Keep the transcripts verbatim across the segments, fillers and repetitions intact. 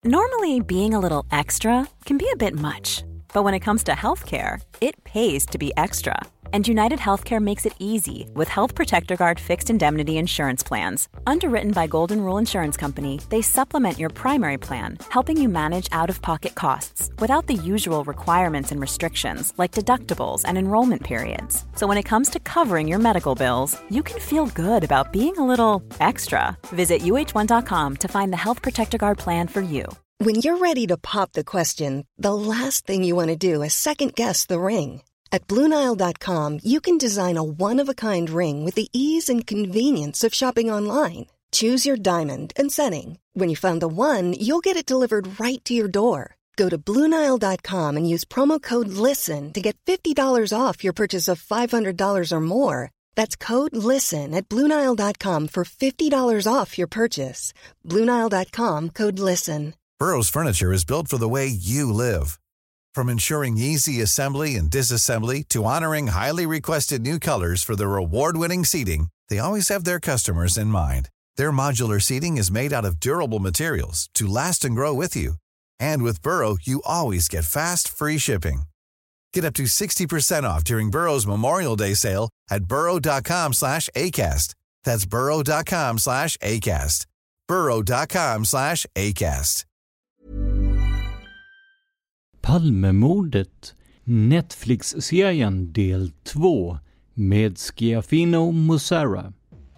Normally, being a little extra can be a bit much, but when it comes to healthcare, it pays to be extra. And United Healthcare makes it easy with Health Protector Guard fixed indemnity insurance plans. Underwritten by Golden Rule Insurance Company, they supplement your primary plan, helping you manage out-of-pocket costs without the usual requirements and restrictions like deductibles and enrollment periods. So when it comes to covering your medical bills, you can feel good about being a little extra. Visit U H one dot com to find the Health Protector Guard plan for you. When you're ready to pop the question, the last thing you want to do is second-guess the ring. At Blue Nile dot com, you can design a one-of-a-kind ring with the ease and convenience of shopping online. Choose your diamond and setting. When you find the one, you'll get it delivered right to your door. Go to Blue Nile dot com and use promo code LISTEN to get fifty dollars off your purchase of five hundred dollars or more. That's code LISTEN at Blue Nile dot com for fifty dollars off your purchase. Blue Nile dot com, code LISTEN. Burrow's furniture is built for the way you live. From ensuring easy assembly and disassembly to honoring highly requested new colors for their award-winning seating, they always have their customers in mind. Their modular seating is made out of durable materials to last and grow with you. And with Burrow, you always get fast, free shipping. Get up to sixty percent off during Burrow's Memorial Day sale at burrow dot com slash acast. That's burrow dot com slash acast. burrow dot com slash acast. Palmemordet, Netflix-serien del två med Schiaffino Mussara.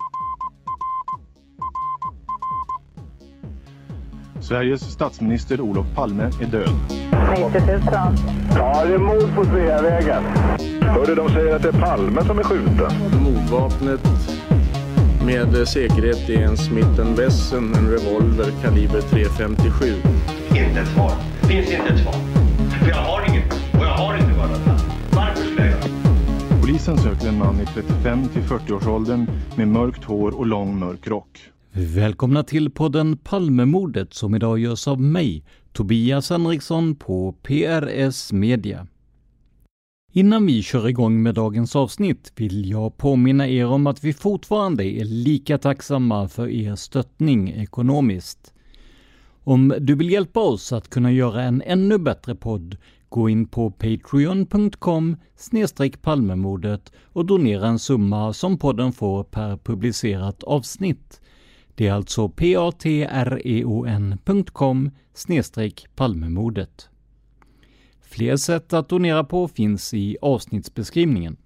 Sveriges statsminister Olof Palme är död. nittio tusen. Ja, det är mord på Sveavägen. Hörde de säger att det är Palme som är skjuten. Mordvapnet med säkerhet är en Smith and Wesson, en revolver kaliber tre femtiosju. Inte ett svar. Finns inte ett svar. För jag har inget. Och jag har inte varit. Varför skulle jag göra? Polisen söker en man i trettiofem till fyrtio-årsåldern med mörkt hår och lång mörk rock. Välkomna till podden Palmemordet som idag görs av mig, Tobias Henriksson på P R S Media. Innan vi kör igång med dagens avsnitt vill jag påminna er om att vi fortfarande är lika tacksamma för er stöttning ekonomiskt. Om du vill hjälpa oss att kunna göra en ännu bättre podd, gå in på patreon punkt com snedstreck palmemordet och donera en summa som podden får per publicerat avsnitt. Det är alltså patreon punkt com snedstreck palmemordet. Fler sätt att donera på finns i avsnittsbeskrivningen.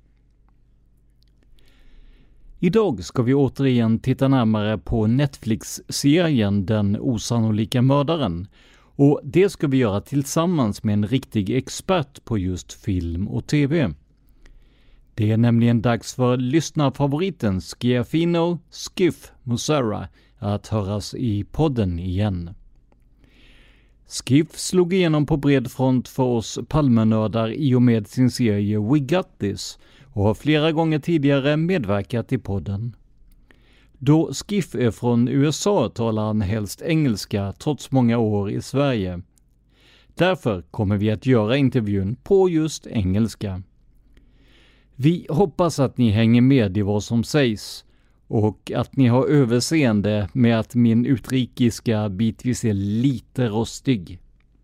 Idag ska vi återigen titta närmare på Netflix-serien Den osannolika mördaren, och det ska vi göra tillsammans med en riktig expert på just film och tv. Det är nämligen dags för lyssnarfavoriten Schiaffino Skiff Mussara att höras i podden igen. Skiff slog igenom på bred front för oss Palmenördar i och med sin serie We Got This och har flera gånger tidigare medverkat i podden. Då Skiff är från U S A talar han helst engelska trots många år i Sverige. Därför kommer vi att göra intervjun på just engelska. Vi hoppas att ni hänger med i vad som sägs och att ni har överseende med att min utrikiska bitvis är lite rostig.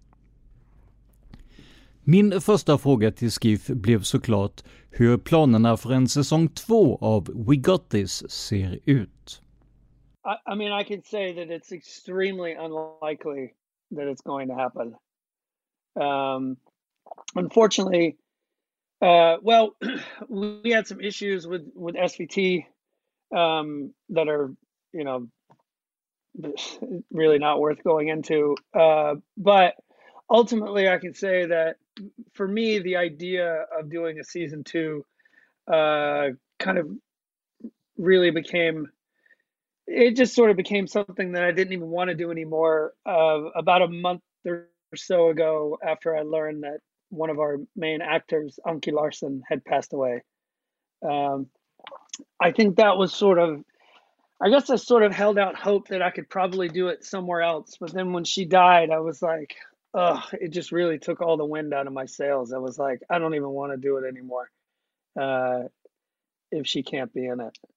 Min första fråga till Skiff blev såklart hur planerna för en säsong två av We Got This ser ut. I, I mean, I can say that it's extremely unlikely that it's going to happen. Um, unfortunately, uh, well, we had some issues with, with S V T um, that are, you know, really not worth going into. Uh, but ultimately, I can say that for me, the idea of doing a season two uh, kind of really became, it just sort of became something that I didn't even want to do anymore. Uh, about a month or so ago, after I learned that one of our main actors, Anki Larsen, had passed away. Um, I think that was sort of, I guess I sort of held out hope that I could probably do it somewhere else. But then when she died, I was like, ugh, it just really took all the wind out of my sails. I was like, I don't even want to do it anymore uh, if she can't be in it.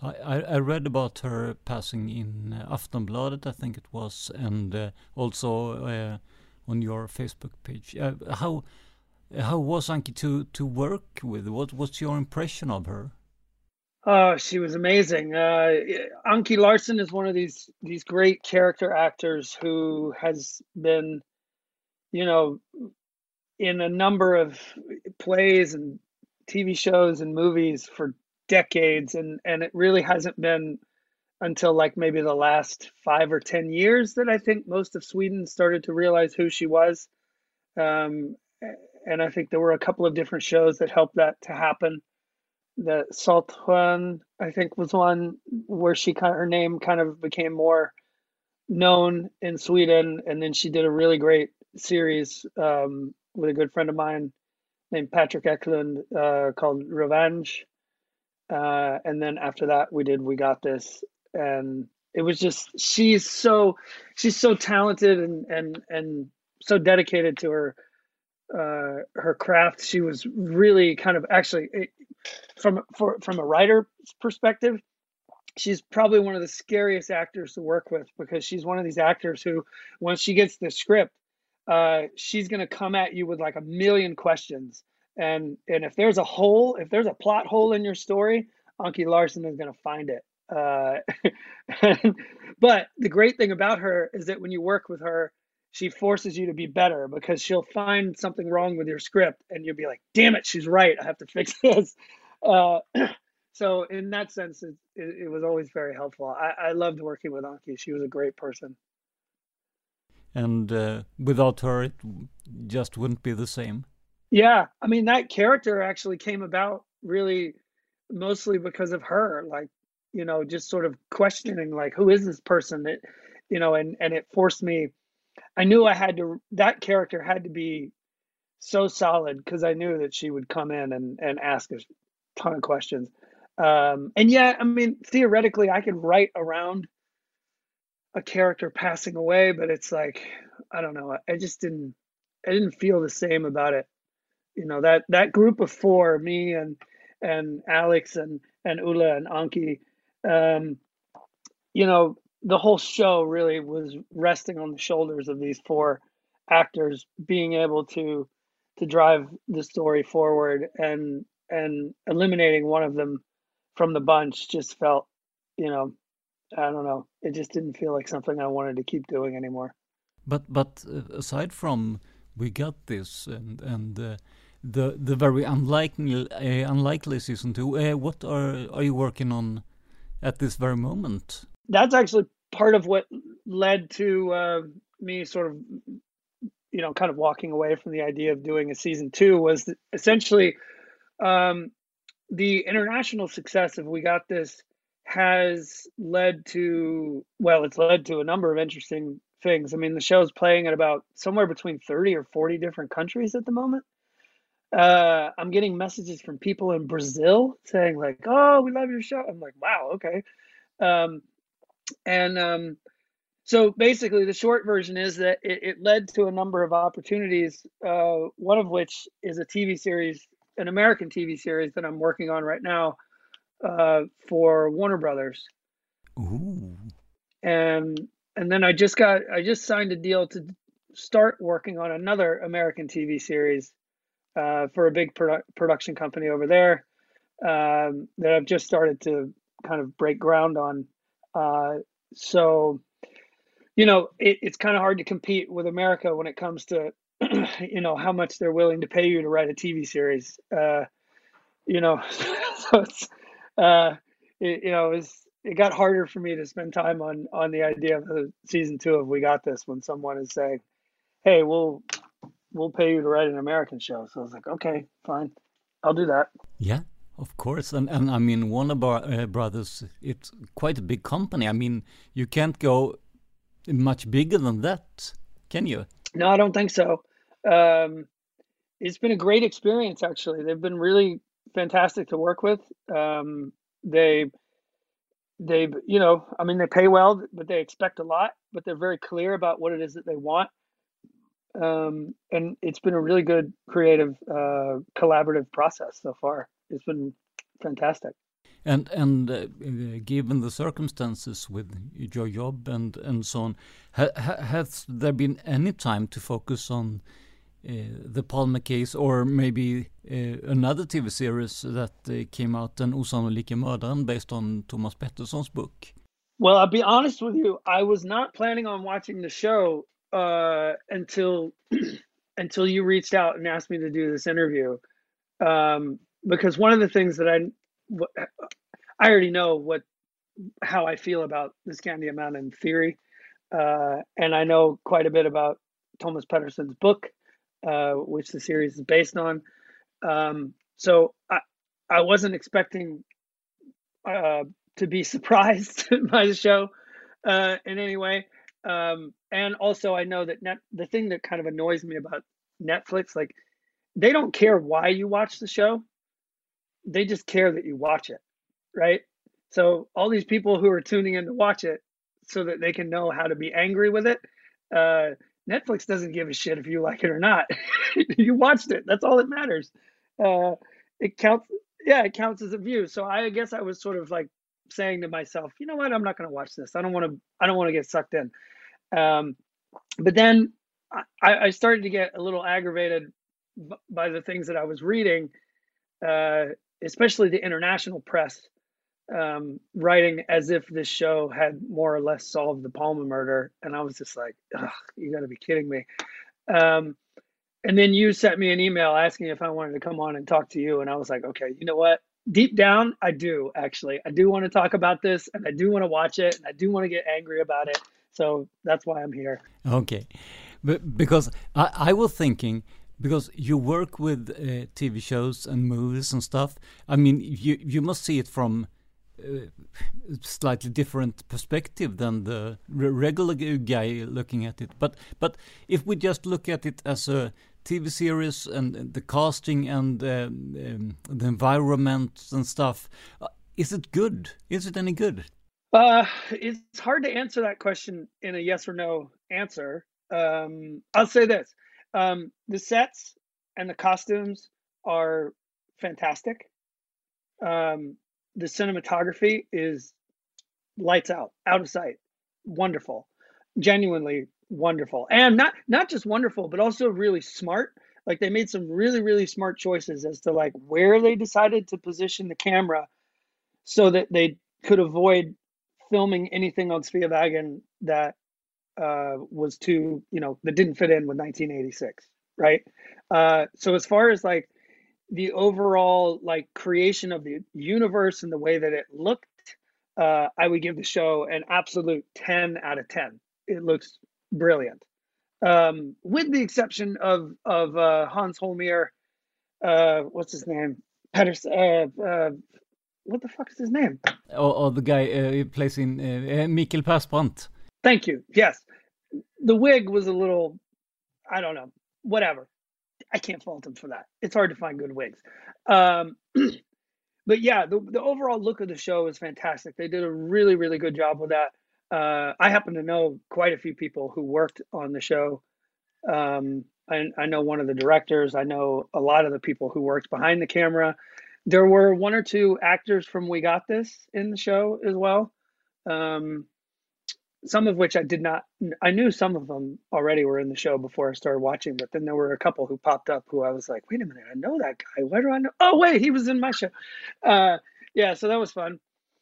I, I I read about her passing in uh, Aftonbladet, I think it was, and uh, also uh, on your Facebook page. Uh, how how was Anki to to work with? What was your impression of her? Oh, she was amazing. Uh, Anki Larsen is one of these these great character actors who has been, you know, in a number of plays and T V shows and movies for decades, and and it really hasn't been until like maybe the last five or ten years that I think most of Sweden started to realize who she was. Um, and I think there were a couple of different shows that helped that to happen. The Saltsjön, I think, was one where she kind of, her name kind of became more known in Sweden, and then she did a really great series um, with a good friend of mine named Patrick Eklund uh, called Revenge. Uh, and then after that, we did We Got This, and it was just she's so she's so talented and and and so dedicated to her uh, her craft. She was really kind of actually from for from a writer's perspective, she's probably one of the scariest actors to work with, because she's one of these actors who, once she gets the script, uh, she's going to come at you with like a million questions. And and if there's a hole, if there's a plot hole in your story, Anki Larsen is going to find it. Uh, but the great thing about her is that when you work with her, she forces you to be better, because she'll find something wrong with your script and you'll be like, damn it, she's right. I have to fix this. Uh, so in that sense, it, it, it was always very helpful. I, I loved working with Anki. She was a great person. And uh, without her, it just wouldn't be the same. Yeah. I mean, that character actually came about really mostly because of her, like, you know, just sort of questioning, like, who is this person? That, you know, and, and it forced me, I knew I had to, that character had to be so solid, because I knew that she would come in and, and ask a ton of questions. Um, and yeah, I mean, theoretically, I could write around a character passing away, but it's like, I don't know. I just didn't, I didn't feel the same about it. You know, that, that group of four, me and, and Alex and, and Ulla and Anki, um, you know, the whole show really was resting on the shoulders of these four actors being able to, to drive the story forward, and, and eliminating one of them from the bunch just felt, you know, I don't know. It just didn't feel like something I wanted to keep doing anymore. But but uh, aside from We Got This and and uh, the the very unlikely uh, unlikely season two, uh, what are are you working on at this very moment? That's actually part of what led to uh, me sort of, you know, kind of walking away from the idea of doing a season two, was that essentially um, the international success of We Got This has led to, well, it's led to a number of interesting things. I mean, the show's playing at about somewhere between thirty or forty different countries at the moment. Uh, I'm getting messages from people in Brazil saying like, oh, we love your show. I'm like, wow, okay. Um, and um, so basically the short version is that it, it led to a number of opportunities, uh, one of which is a T V series, an American T V series that I'm working on right now, uh, for Warner Brothers. Ooh. And and then I just got I just signed a deal to start working on another American T V series uh, for a big produ- production company over there, um, that I've just started to kind of break ground on. Uh, so, you know, it, it's kind of hard to compete with America when it comes to, you know, how much they're willing to pay you to write a T V series. Uh, you know, so it's, uh, it, you know, it's, it got harder for me to spend time on, on the idea of the season two of We Got This when someone is saying, hey, we'll, we'll pay you to write an American show. So I was like, okay, fine, I'll do that. Yeah, of course. And, and I mean, Warner Bar- uh, Brothers, it's quite a big company. I mean, you can't go much bigger than that, can you? No, I don't think so. Um, it's been a great experience, actually. They've been really fantastic to work with. Um, they, they, you know, I mean, they pay well, but they expect a lot, but they're very clear about what it is that they want. Um, and it's been a really good, creative, uh, collaborative process so far. It's been fantastic. And and uh, given the circumstances with your job and and so on, ha, ha, has there been any time to focus on uh, the Palme case, or maybe uh, another T V series that uh, came out, Den osannolike mördaren, based on Thomas Pettersson's book? Well, I'll be honest with you. I was not planning on watching the show uh, until until you reached out and asked me to do this interview, um, because one of the things that I I already know what how I feel about the Scandia Mountain theory, uh, and I know quite a bit about Thomas Pettersson's book, uh, which the series is based on. Um, so I I wasn't expecting uh, to be surprised by the show uh, in any way. Um, and also I know that net, the thing that kind of annoys me about Netflix, like, they don't care why you watch the show. They just care that you watch it, right? So all these people who are tuning in to watch it so that they can know how to be angry with it, uh, Netflix doesn't give a shit if you like it or not. You watched it. That's all that matters. Uh, it counts. Yeah, it counts as a view. So I guess I was sort of like saying to myself, you know what? I'm not going to watch this. I don't want to. I don't want to get sucked in. Um, but then I, I started to get a little aggravated b- by the things that I was reading, uh, especially the international press, um, writing as if this show had more or less solved the Palme murder. And I was just like, ugh, you got to be kidding me. Um, and then you sent me an email asking if I wanted to come on and talk to you. And I was like, okay, you know what? Deep down, I do, actually. I do want to talk about this, and I do want to watch it, and I do want to get angry about it. So that's why I'm here. Okay. But because I, I was thinking, because you work with uh, T V shows and movies and stuff, I mean, you, you must see it from a slightly different perspective than the regular guy looking at it. But but if we just look at it as a T V series and the casting and um, um, the environment and stuff, uh, is it good? Is it any good? Uh, it's hard to answer that question in a yes or no answer. Um, I'll say this. Um, the sets and the costumes are fantastic. Um, the cinematography is lights out, out of sight. Wonderful. Genuinely wonderful. And not not just wonderful, but also really smart. Like, they made some really, really smart choices as to like where they decided to position the camera so that they could avoid filming anything on Sveavägen that uh, was too, you know, that didn't fit in with nineteen eighty-six, right? Uh, so as far as like the overall like creation of the universe and the way that it looked, uh, I would give the show an absolute ten out of ten. It looks brilliant, um, with the exception of of uh, Hans Holmér. Uh, what's his name? Pettersson. Uh, uh, what the fuck is his name? Or, or the guy uh, who plays in uh, Mikael Persbrandt. Thank you. Yes, the wig was a little, I don't know, whatever. I can't fault him for that. It's hard to find good wigs. Um, but yeah, the, the overall look of the show is fantastic. They did a really, really good job with that. Uh, I happen to know quite a few people who worked on the show. Um, I, I know one of the directors. I know a lot of the people who worked behind the camera. There were one or two actors from We Got This in the show as well. Um, some of which I did not, I knew some of them already were in the show before I started watching, but then there were a couple who popped up who I was like, wait a minute, I know that guy. Why do I know? Oh, wait, he was in my show. Uh, yeah, so that was fun.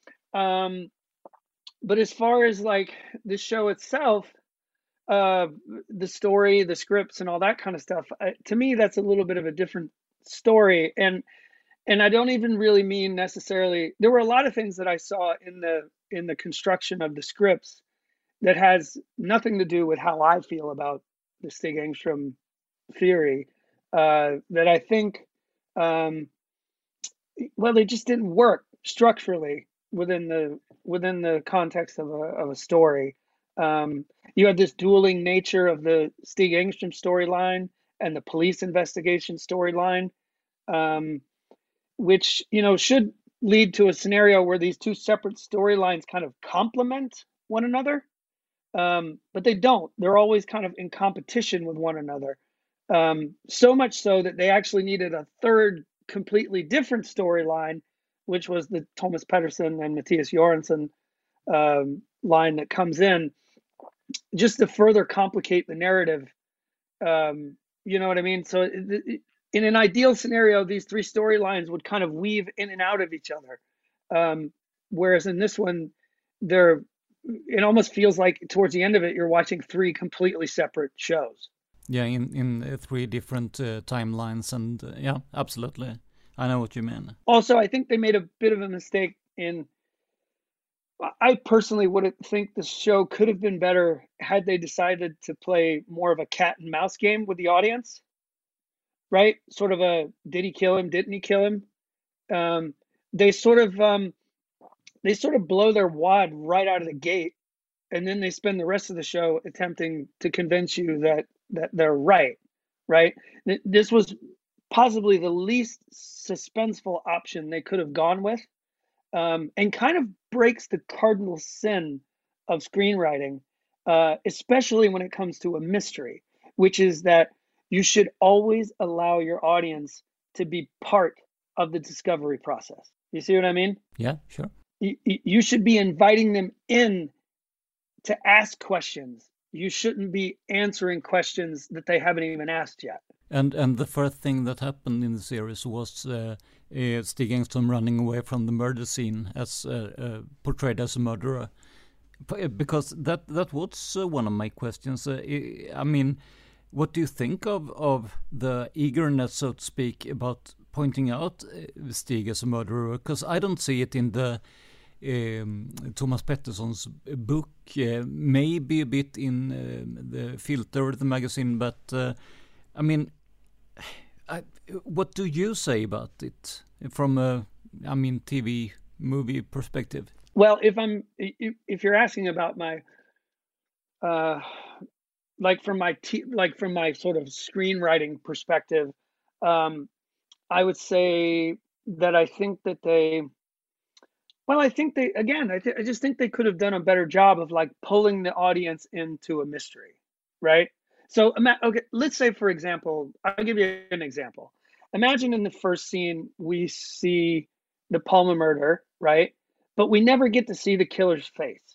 Um, but as far as like the show itself, uh, the story, the scripts and all that kind of stuff, uh, to me, that's a little bit of a different story. And And I don't even really mean necessarily, there were a lot of things that I saw in the in the construction of the scripts that has nothing to do with how I feel about the Stig Engström theory, uh, that I think, um, well, they just didn't work structurally within the within the context of a of a story. Um, you had this dueling nature of the Stig Engström storyline and the police investigation storyline, um, which, you know, should lead to a scenario where these two separate storylines kind of complement one another. Um, but they don't. They're always kind of in competition with one another. Um, so much so that they actually needed a third completely different storyline which was the Thomas Pettersson and Matthias Göransson um, line that comes in, just to further complicate the narrative. Um, you know what I mean? So it, it, in an ideal scenario, these three storylines would kind of weave in and out of each other. Um, whereas in this one, they're, it almost feels like towards the end of it, you're watching three completely separate shows. Yeah, in, in uh, three different uh, timelines. And uh, yeah, absolutely. I know what you mean. Also, I think they made a bit of a mistake in, I personally would think the show could have been better had they decided to play more of a cat and mouse game with the audience, right? Sort of a, did he kill him? Didn't he kill him? Um, they sort of, um, they sort of blow their wad right out of the gate. And then they spend the rest of the show attempting to convince you that, that they're right, right? This was possibly the least suspenseful option they could have gone with. Um, and kind of breaks the cardinal sin of screenwriting, uh, especially when it comes to a mystery, which is that you should always allow your audience to be part of the discovery process. You see what I mean? Yeah, sure. You, you should be inviting them in to ask questions. You shouldn't be answering questions that they haven't even asked yet. And and the first thing that happened in the series was uh, uh, Stig Engström running away from the murder scene as uh, uh, portrayed as a murderer, because that that was uh, one of my questions. Uh, I mean, what do you think of of the eagerness, so to speak, about pointing out uh, Stig as a murderer? Because I don't see it in the um, Thomas Pettersson's book. Uh, maybe a bit in uh, the Filter, the magazine, but uh, I mean. I, what do you say about it from a, I mean, T V movie perspective? Well, if I'm, if you're asking about my, uh, like from my, t- like from my sort of screenwriting perspective, um, I would say that I think that they, well, I think they, again, I, th- I just think they could have done a better job of like pulling the audience into a mystery, right? So, okay, let's say, for example, I'll give you an example. Imagine in the first scene, we see the Palmer murder, right? But we never get to see the killer's face.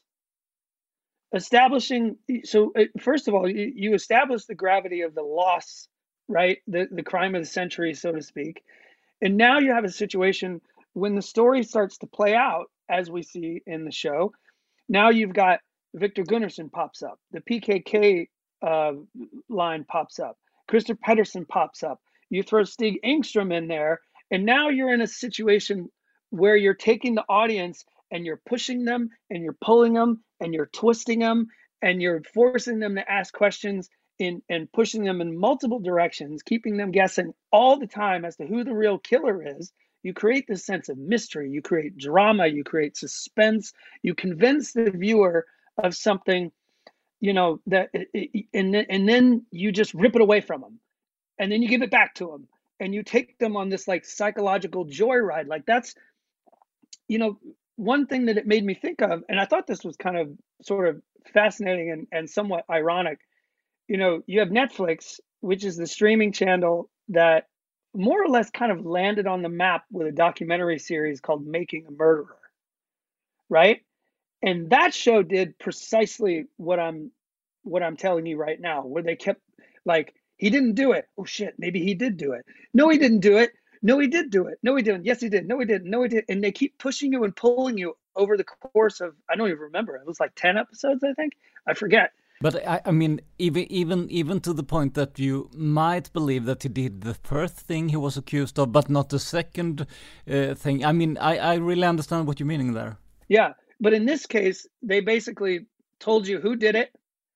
Establishing, so first of all, you, you establish the gravity of the loss, right? The, the crime of the century, so to speak. And now you have a situation when the story starts to play out, as we see in the show. Now you've got Victor Gunnarsson pops up, the P K K Uh, line pops up. Christer Pettersson pops up. You throw Stig Engström in there, and now you're in a situation where you're taking the audience and you're pushing them and you're pulling them and you're twisting them and you're forcing them to ask questions in and pushing them in multiple directions, keeping them guessing all the time as to who the real killer is. You create this sense of mystery. You create drama. You create suspense. You convince the viewer of something, you know, that, and then, and then you just rip it away from them, and then you give it back to them, and you take them on this like psychological joyride. Like that's, you know, one thing that it made me think of, and I thought this was kind of sort of fascinating and, and somewhat ironic. You know, you have Netflix, which is the streaming channel that more or less kind of landed on the map with a documentary series called Making a Murderer, right? And that show did precisely what I'm what I'm telling you right now, where they kept like, he didn't do it. Oh shit, maybe he did do it. No, he didn't do it. No, he did do it. No, he didn't. Yes, he did. No, he didn't. No, he did. And they keep pushing you and pulling you over the course of, I don't even remember. It was like ten episodes, I think. I forget. But I, I mean, even even even to the point that you might believe that he did the first thing he was accused of, but not the second uh, thing. I mean, I, I really understand what you're meaning there. Yeah, but in this case, they basically told you who did it,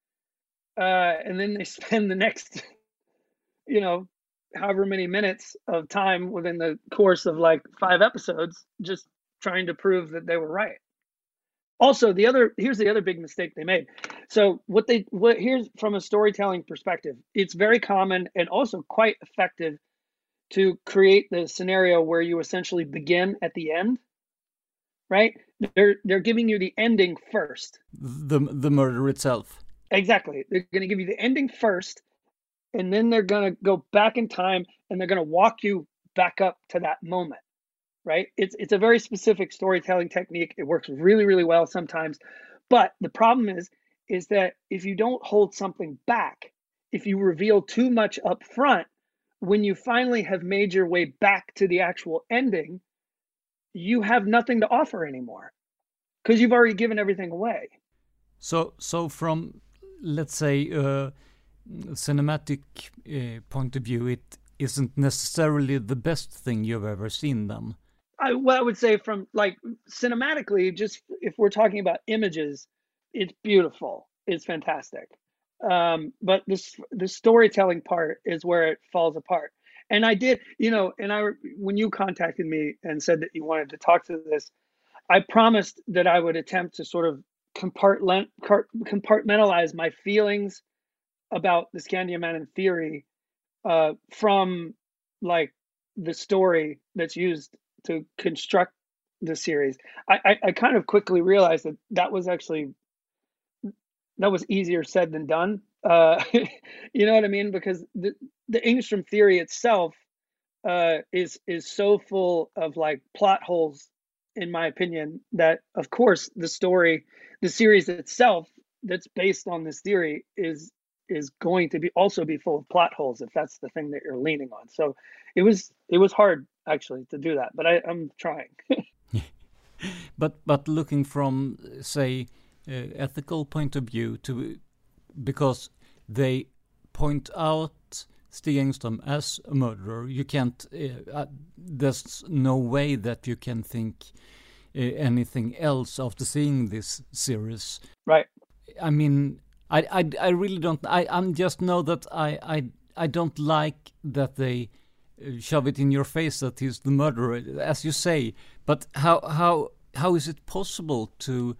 uh, and then they spend the next, you know, however many minutes of time within the course of like five episodes just trying to prove that they were right. Also, the other here's the other big mistake they made. So what they what here's from a storytelling perspective, it's very common and also quite effective to create the scenario where you essentially begin at the end, right? They're they're giving you the ending first. The the murder itself. Exactly. They're going to give you the ending first, and then they're going to go back in time and they're going to walk you back up to that moment, right? It's it's a very specific storytelling technique. It works really, really well sometimes. But the problem is, is that if you don't hold something back, if you reveal too much up front, when you finally have made your way back to the actual ending, you have nothing to offer anymore because you've already given everything away. So, so from, let's say, a cinematic uh, point of view, it isn't necessarily the best thing you've ever seen then? I, well, I would say from like cinematically, just if we're talking about images, it's beautiful. It's fantastic. Um, but this, the storytelling part is where it falls apart. And I did, you know, and I, when you contacted me and said that you wanted to talk to this, I promised that I would attempt to sort of compartmentalize my feelings about the Scandiamannen theory uh, from like the story that's used to construct the series. I, I, I kind of quickly realized that that was actually, that was easier said than done. Uh, you know what I mean? Because the, the Engstrom theory itself uh, is is so full of like plot holes, in my opinion, that of course the story, the series itself that's based on this theory is is going to be also be full of plot holes if that's the thing that you're leaning on. So it was it was hard actually to do that, but I, I'm trying. but but looking from say uh, ethical point of view, to because they point out Stig Engström as a murderer, you can't. Uh, uh, there's no way that you can think uh, anything else after seeing this series. Right. I mean, I I, I really don't. I I'm just know that I I I don't like that they shove it in your face that he's the murderer, as you say. But how how how is it possible to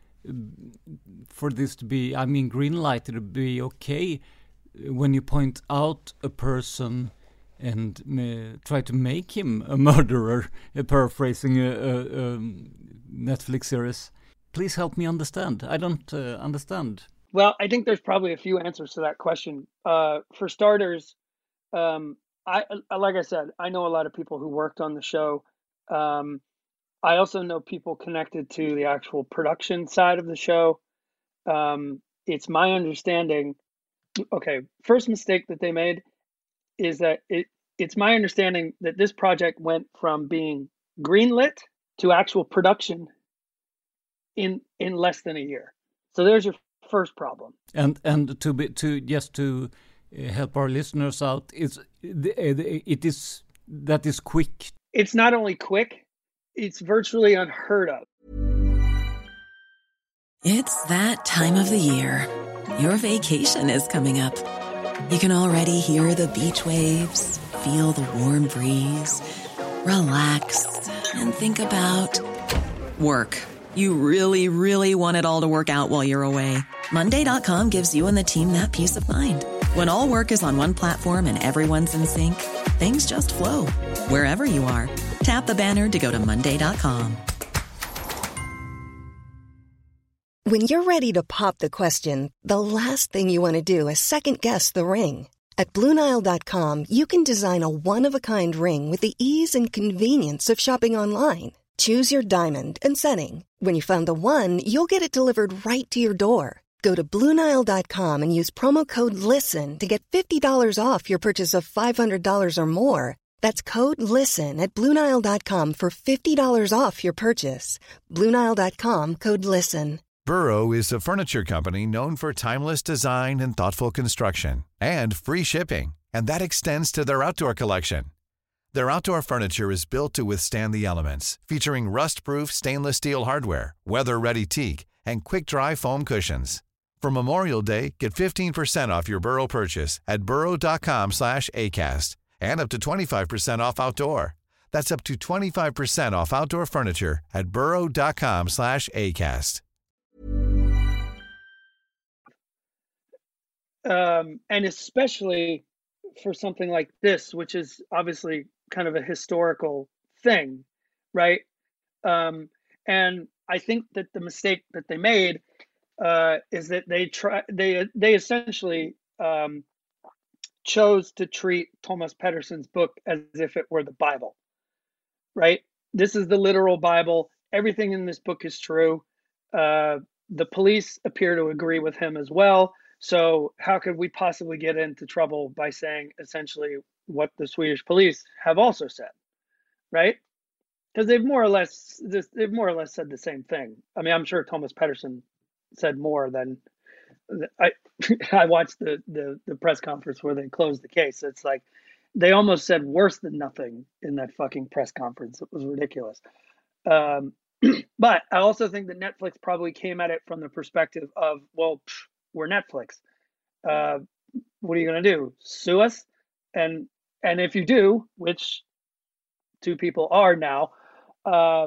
for this to be, I mean, green lighted to be okay when you point out a person and uh, try to make him a murderer, uh, paraphrasing a, a, a Netflix series? Please help me understand. I don't uh, understand. Well, I think there's probably a few answers to that question. Uh, for starters, um, I like I said, I know a lot of people who worked on the show. Um, I also know people connected to the actual production side of the show. Um, it's my understanding. Okay, first mistake that they made is that it. It's my understanding that this project went from being greenlit to actual production in in less than a year. So there's your first problem. And and to be to just to help our listeners out, it's it is that is quick. It's not only quick, it's virtually unheard of. It's that time of the year. Your vacation is coming up. You can already hear the beach waves, feel the warm breeze, relax, and think about work. You really, really want it all to work out while you're away. Monday dot com gives you and the team that peace of mind. When all work is on one platform and everyone's in sync, things just flow. Wherever you are, tap the banner to go to Monday dot com. When you're ready to pop the question, the last thing you want to do is second-guess the ring. At Blue Nile dot com, you can design a one-of-a-kind ring with the ease and convenience of shopping online. Choose your diamond and setting. When you find the one, you'll get it delivered right to your door. Go to Blue Nile dot com and use promo code LISTEN to get fifty dollars off your purchase of five hundred dollars or more. That's code LISTEN at Blue Nile dot com for fifty dollars off your purchase. Blue Nile dot com, code LISTEN. Burrow is a furniture company known for timeless design and thoughtful construction, and free shipping, and that extends to their outdoor collection. Their outdoor furniture is built to withstand the elements, featuring rust-proof stainless steel hardware, weather-ready teak, and quick-dry foam cushions. For Memorial Day, get fifteen percent off your Burrow purchase at burrow dot com slash acast, and up to twenty-five percent off outdoor. That's up to twenty-five percent off outdoor furniture at burrow dot com slash acast. Um, and especially for something like this, which is obviously kind of a historical thing, right? Um, and I think that the mistake that they made uh, is that they try they they essentially um, chose to treat Thomas Pedersen's book as if it were the Bible, right? this is the literal Bible. Everything in this book is true. Uh, the police appear to agree with him as well. So how could we possibly get into trouble by saying essentially what the Swedish police have also said, right? Because they've more or less they've more or less said the same thing. I mean, I'm sure Thomas Pettersson said more than I. I watched the, the the press conference where they closed the case. It's like they almost said worse than nothing in that fucking press conference. It was ridiculous. Um, but I also think that Netflix probably came at it from the perspective of, well, pff, we're Netflix. Uh, what are you going to do? Sue us? And and if you do, which two people are now, uh,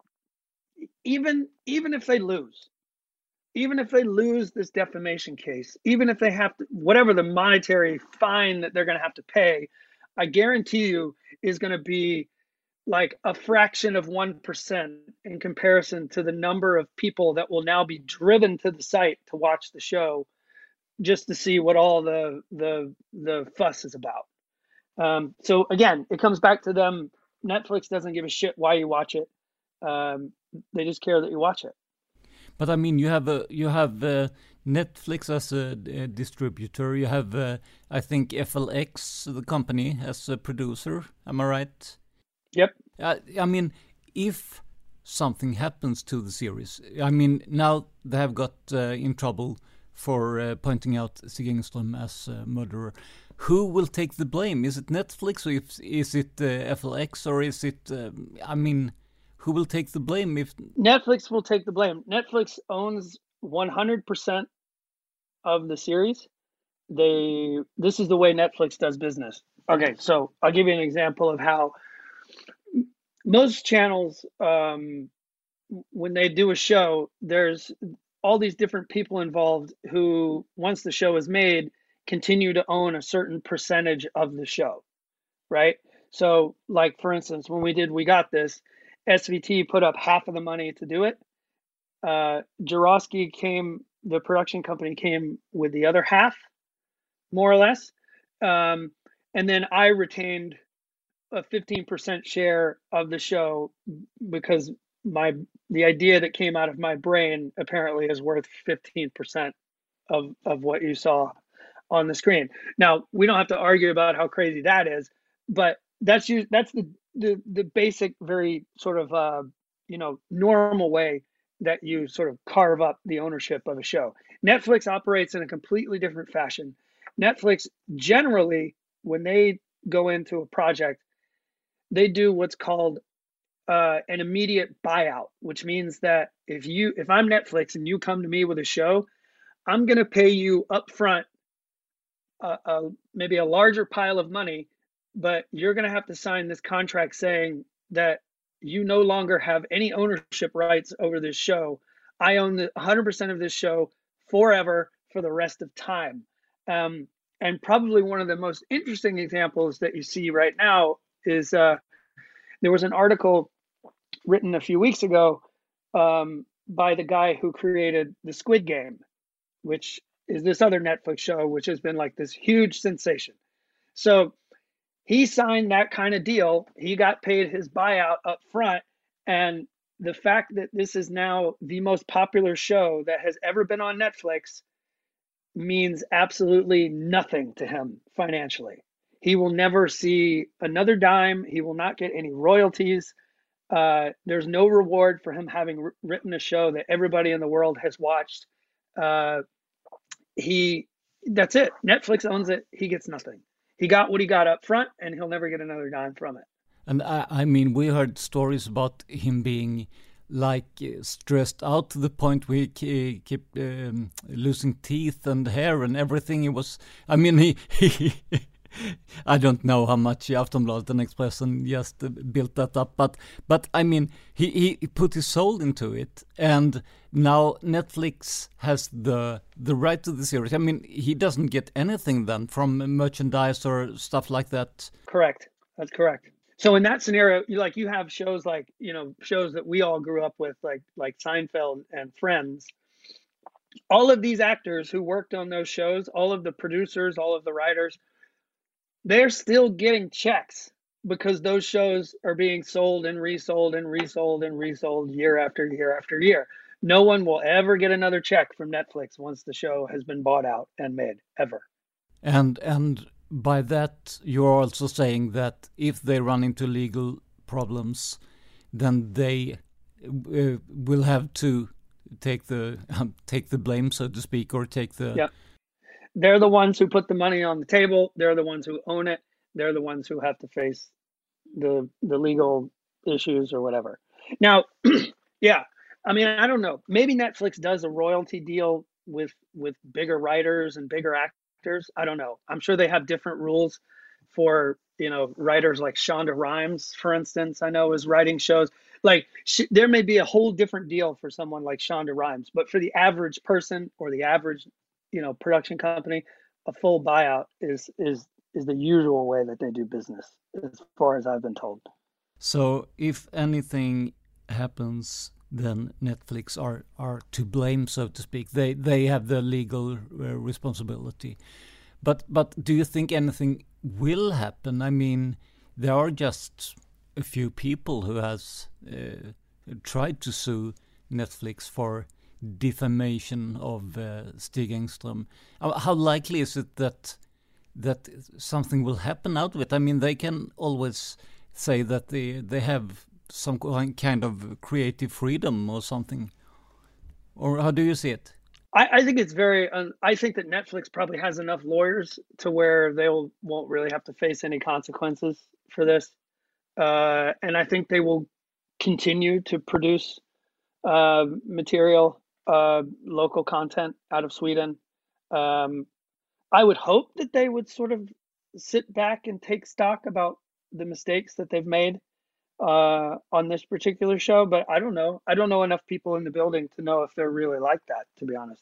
even even if they lose, even if they lose this defamation case, even if they have to, whatever the monetary fine that they're going to have to pay, I guarantee you is going to be like a fraction of one percent in comparison to the number of people that will now be driven to the site to watch the show just to see what all the the the fuss is about. Um, so again, it comes back to them. Netflix doesn't give a shit why you watch it. Um, they just care that you watch it. But I mean, you have a you have uh, Netflix as a, a distributor. You have, uh, I think, F L X, the company, as a producer. Am I right? Yep. Uh, I mean, if something happens to the series, I mean, now they have got uh, in trouble for uh, pointing out Stig Engström as a murderer. Who will take the blame? Is it Netflix, or if, is it uh, F L X, or is it? Uh, I mean, who will take the blame if Netflix will take the blame? Netflix owns one hundred percent of the series. They this is the way Netflix does business. Okay, so I'll give you an example of how most channels, um, when they do a show, there's all these different people involved who, once the show is made, continue to own a certain percentage of the show, right? So, like, for instance, when we did We Got This, S V T put up half of the money to do it. Uh, Jarosky came, the production company came with the other half, more or less. Um, and then I retained a fifteen percent share of the show because my the idea that came out of my brain apparently is worth fifteen percent of, of what you saw on the screen. Now, we don't have to argue about how crazy that is, but that's you, that's the, the, the basic, very sort of, uh, you know, normal way that you sort of carve up the ownership of a show. Netflix operates in a completely different fashion. Netflix generally, when they go into a project, they do what's called uh, an immediate buyout, which means that if you, if I'm Netflix and you come to me with a show, I'm going to pay you upfront uh, uh, maybe a larger pile of money, but you're going to have to sign this contract saying that you no longer have any ownership rights over this show. I own the one hundred percent of this show forever for the rest of time. Um, and probably one of the most interesting examples that you see right now is uh, there was an article written a few weeks ago um, by the guy who created the Squid Game, which is this other Netflix show, which has been like this huge sensation. So he signed that kind of deal. He got paid his buyout up front. And the fact that this is now the most popular show that has ever been on Netflix means absolutely nothing to him financially. He will never see another dime. He will not get any royalties. Uh, there's no reward for him having r- written a show that everybody in the world has watched. Uh, he, that's it. Netflix owns it. He gets nothing. He got what he got up front, and he'll never get another dime from it. And I, I mean, we heard stories about him being like uh, stressed out to the point where he kept um, losing teeth and hair and everything. He was, I mean, he, he I don't know how much Aftonbladet and Expressen just uh, built that up, but but I mean, he, he put his soul into it, and now Netflix has the the right to the series. I mean, he doesn't get anything then from merchandise or stuff like that. Correct. That's correct. So in that scenario, you like you have shows like, you know, shows that we all grew up with, like like Seinfeld and Friends. All of these actors who worked on those shows, all of the producers, all of the writers, they're still getting checks. because those shows are being sold and resold and resold and resold year after year after year. No one will ever get another check from Netflix once the show has been bought out and made, ever. And and by that, you're also saying that if they run into legal problems, then they uh, will have to take the um, take the blame, so to speak, or take the... Yeah. They're the ones who put the money on the table. They're the ones who own it. They're the ones who have to face the the legal issues or whatever. Now, yeah, I mean, I don't know. Maybe Netflix does a royalty deal with with bigger writers and bigger actors. I don't know. I'm sure they have different rules for, you know, writers like Shonda Rhimes, for instance, I know is writing shows. Like she, there may be a whole different deal for someone like Shonda Rhimes, but for the average person or the average, you know, production company, a full buyout is is is the usual way that they do business, as far as I've been told. So if anything happens, then Netflix are, are to blame, so to speak. They they have the legal uh, responsibility. But but do you think anything will happen? I mean, there are just a few people who has uh, tried to sue Netflix for defamation of uh, Stig Engström. How likely is it that that something will happen out of it? I mean, they can always say that they they have some kind of creative freedom or something. Or how do you see it? I, I think it's very. Um, I think that Netflix probably has enough lawyers to where they will, won't really have to face any consequences for this, uh, and I think they will continue to produce uh, material, uh, local content out of Sweden. Um, I would hope that they would sort of sit back and take stock about the mistakes that they've made uh, on this particular show, but I don't know. I don't know enough people in the building to know if they're really like that, to be honest.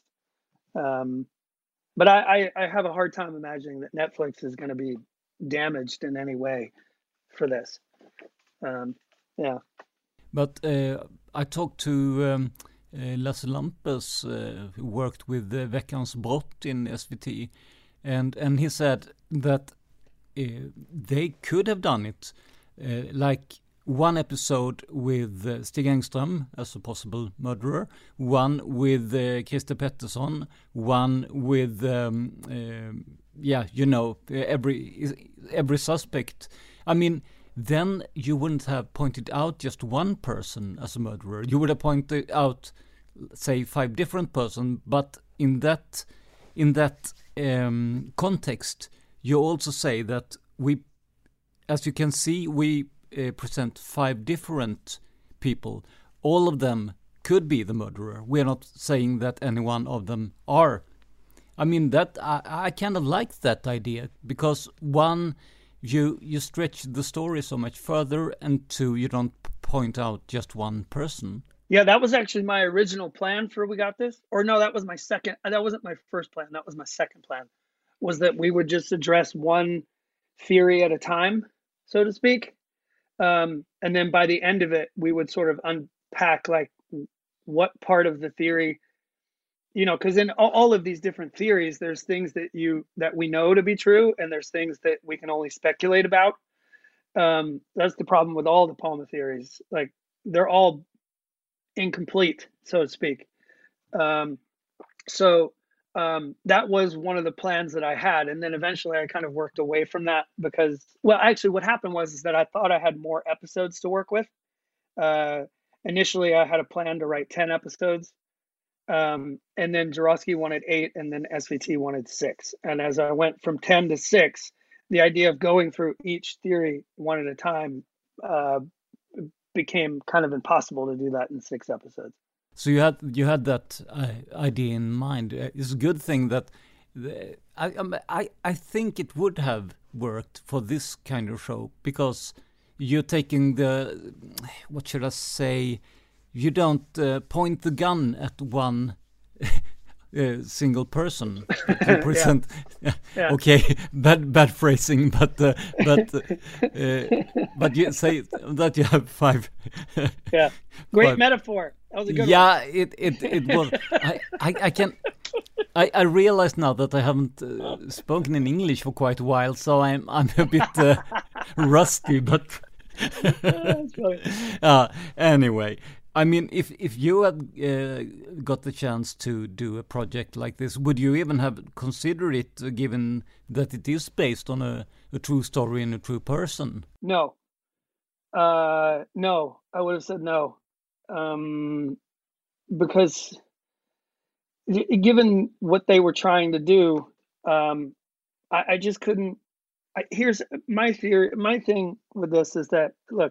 Um, but I, I, I have a hard time imagining that Netflix is going to be damaged in any way for this. Um, yeah. But uh, I talked to um, uh, Lasse Lampes, uh, who worked with uh, Veckans Brott in S V T, and and he said that uh, they could have done it, uh, like one episode with uh, Stig Engström as a possible murderer, one with uh, Christer Pettersson, one with um, uh, yeah, you know, every every suspect. I mean, then you wouldn't have pointed out just one person as a murderer. You would have pointed out, say, five different persons. But in that in that um, context, you also say that we, as you can see, we uh, present five different people. All of them could be the murderer. We're not saying that any one of them are. I mean, that I, I kind of like that idea, because one, you you stretch the story so much further, and two, you don't point out just one person. Yeah, that was actually my original plan for We Got This. Or no, that was my second. That wasn't my first plan. That was my second plan, was that we would just address one theory at a time, so to speak. Um, and then by the end of it, we would sort of unpack like what part of the theory, you know, because in all, all of these different theories, there's things that you that we know to be true, and there's things that we can only speculate about. Um, that's the problem with all the Palme theories. Like, they're all incomplete, so to speak. Um, so um, that was one of the plans that I had. And then eventually I kind of worked away from that because, well, actually what happened was is that I thought I had more episodes to work with. Uh, initially, I had a plan to write ten episodes. Um, and then Jarosky wanted eight, and then S V T wanted six. And as I went from ten to six, the idea of going through each theory one at a time uh, became kind of impossible to do that in six episodes. So you had you had that uh, idea in mind. It's a good thing that the, I, I I think it would have worked for this kind of show, because you're taking the, what should I say, you don't uh, point the gun at one uh, single person. You present, yeah. Yeah. Okay, bad bad phrasing, but uh, but uh, but you say that you have five. Yeah, great five. Metaphor. That was a good yeah, one. it it it was. I, I I can. I, I realize now that I haven't uh, spoken in English for quite a while, so I'm I'm a bit uh, rusty, but uh, anyway, I mean, if if you had uh, got the chance to do a project like this, would you even have considered it, uh, given that it is based on a, a true story and a true person? No, uh, no, I would have said no, um, because given what they were trying to do, um, I, I just couldn't. I, here's my theory. My thing with this is that, look,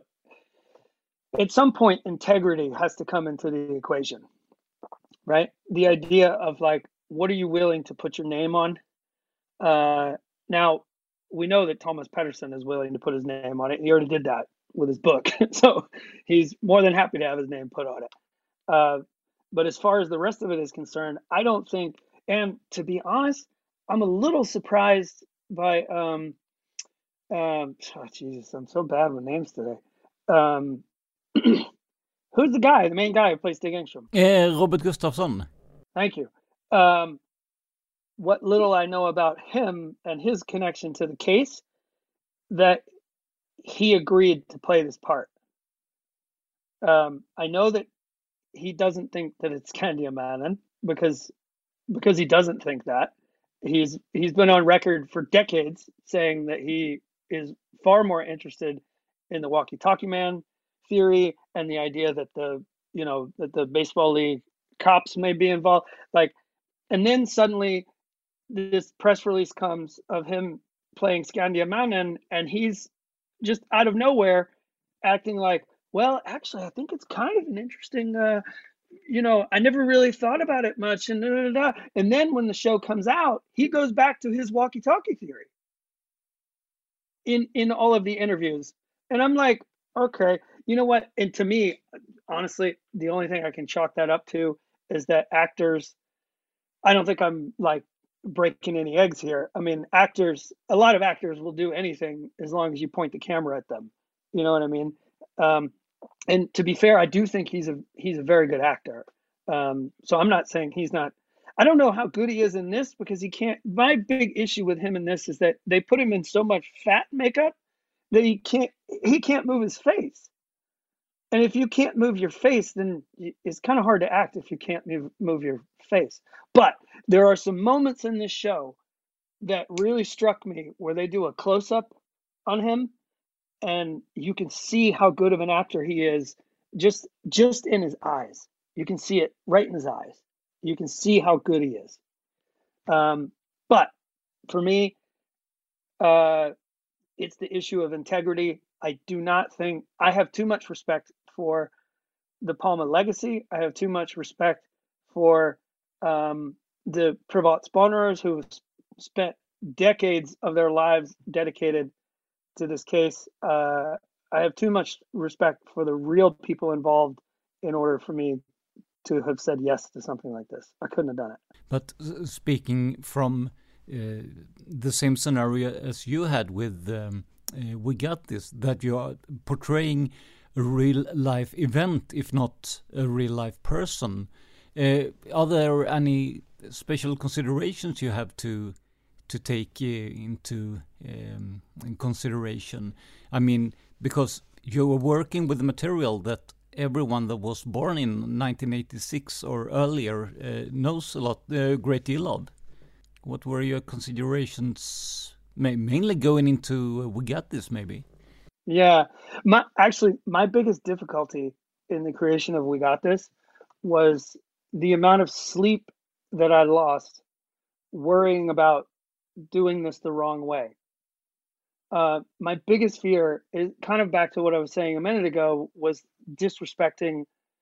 at some point, integrity has to come into the equation, right? The idea of like, what are you willing to put your name on? Uh, now, we know that Thomas Pettersson is willing to put his name on it. He already did that with his book. So he's more than happy to have his name put on it. Uh, but as far as the rest of it is concerned, I don't think, and to be honest, I'm a little surprised by, um, um, oh, Jesus, I'm so bad with names today. Um, who's the guy, the main guy who plays Stig Engström? Uh, Robert Gustafsson. Thank you. Um, what little I know about him and his connection to the case, that he agreed to play this part. Um, I know that he doesn't think that it's Skandia Mannen because because he doesn't think that. He's he's been on record for decades saying that he is far more interested in the walkie-talkie man theory and the idea that the you know that the baseball league cops may be involved. Like, and then suddenly this press release comes of him playing Skandia Mannen, and he's just out of nowhere acting like, well, actually, I think it's kind of an interesting, uh, you know, I never really thought about it much. And, da, da, da. And then when the show comes out, he goes back to his walkie-talkie theory in, in all of the interviews. And I'm like, okay, you know what? And to me, honestly, the only thing I can chalk that up to is that actors, I don't think I'm like breaking any eggs here. I mean, actors, a lot of actors will do anything as long as you point the camera at them. You know what I mean? Um, and to be fair, I do think he's a he's a very good actor. Um, so I'm not saying he's not. I don't know how good he is in this because he can't. My big issue with him in this is that they put him in so much fat makeup that he can't he can't move his face. And if you can't move your face, then it's kind of hard to act if you can't move, move your face. But there are some moments in this show that really struck me where they do a close-up on him, and you can see how good of an actor he is just just in his eyes. You can see it right in his eyes. You can see how good he is. Um, but for me, uh, it's the issue of integrity. I do not think I have too much respect for the Palme legacy. I have too much respect for um, the privatspaners who spent decades of their lives dedicated to this case. Uh, I have too much respect for the real people involved in order for me to have said yes to something like this. I couldn't have done it. But uh, speaking from uh, the same scenario as you had with um, uh, We Got This, that you are portraying a real life event, if not a real life person, uh, are there any special considerations you have to to take uh, into um, in consideration? I mean, because you were working with material that everyone that was born in nineteen eighty-six or earlier uh, knows a lot, a uh, great deal of. What were your considerations, mainly going into uh, We Got This, maybe? Yeah, my actually my biggest difficulty in the creation of We Got This was the amount of sleep that I lost worrying about doing this the wrong way. Uh, my biggest fear is kind of back to what I was saying a minute ago, was disrespecting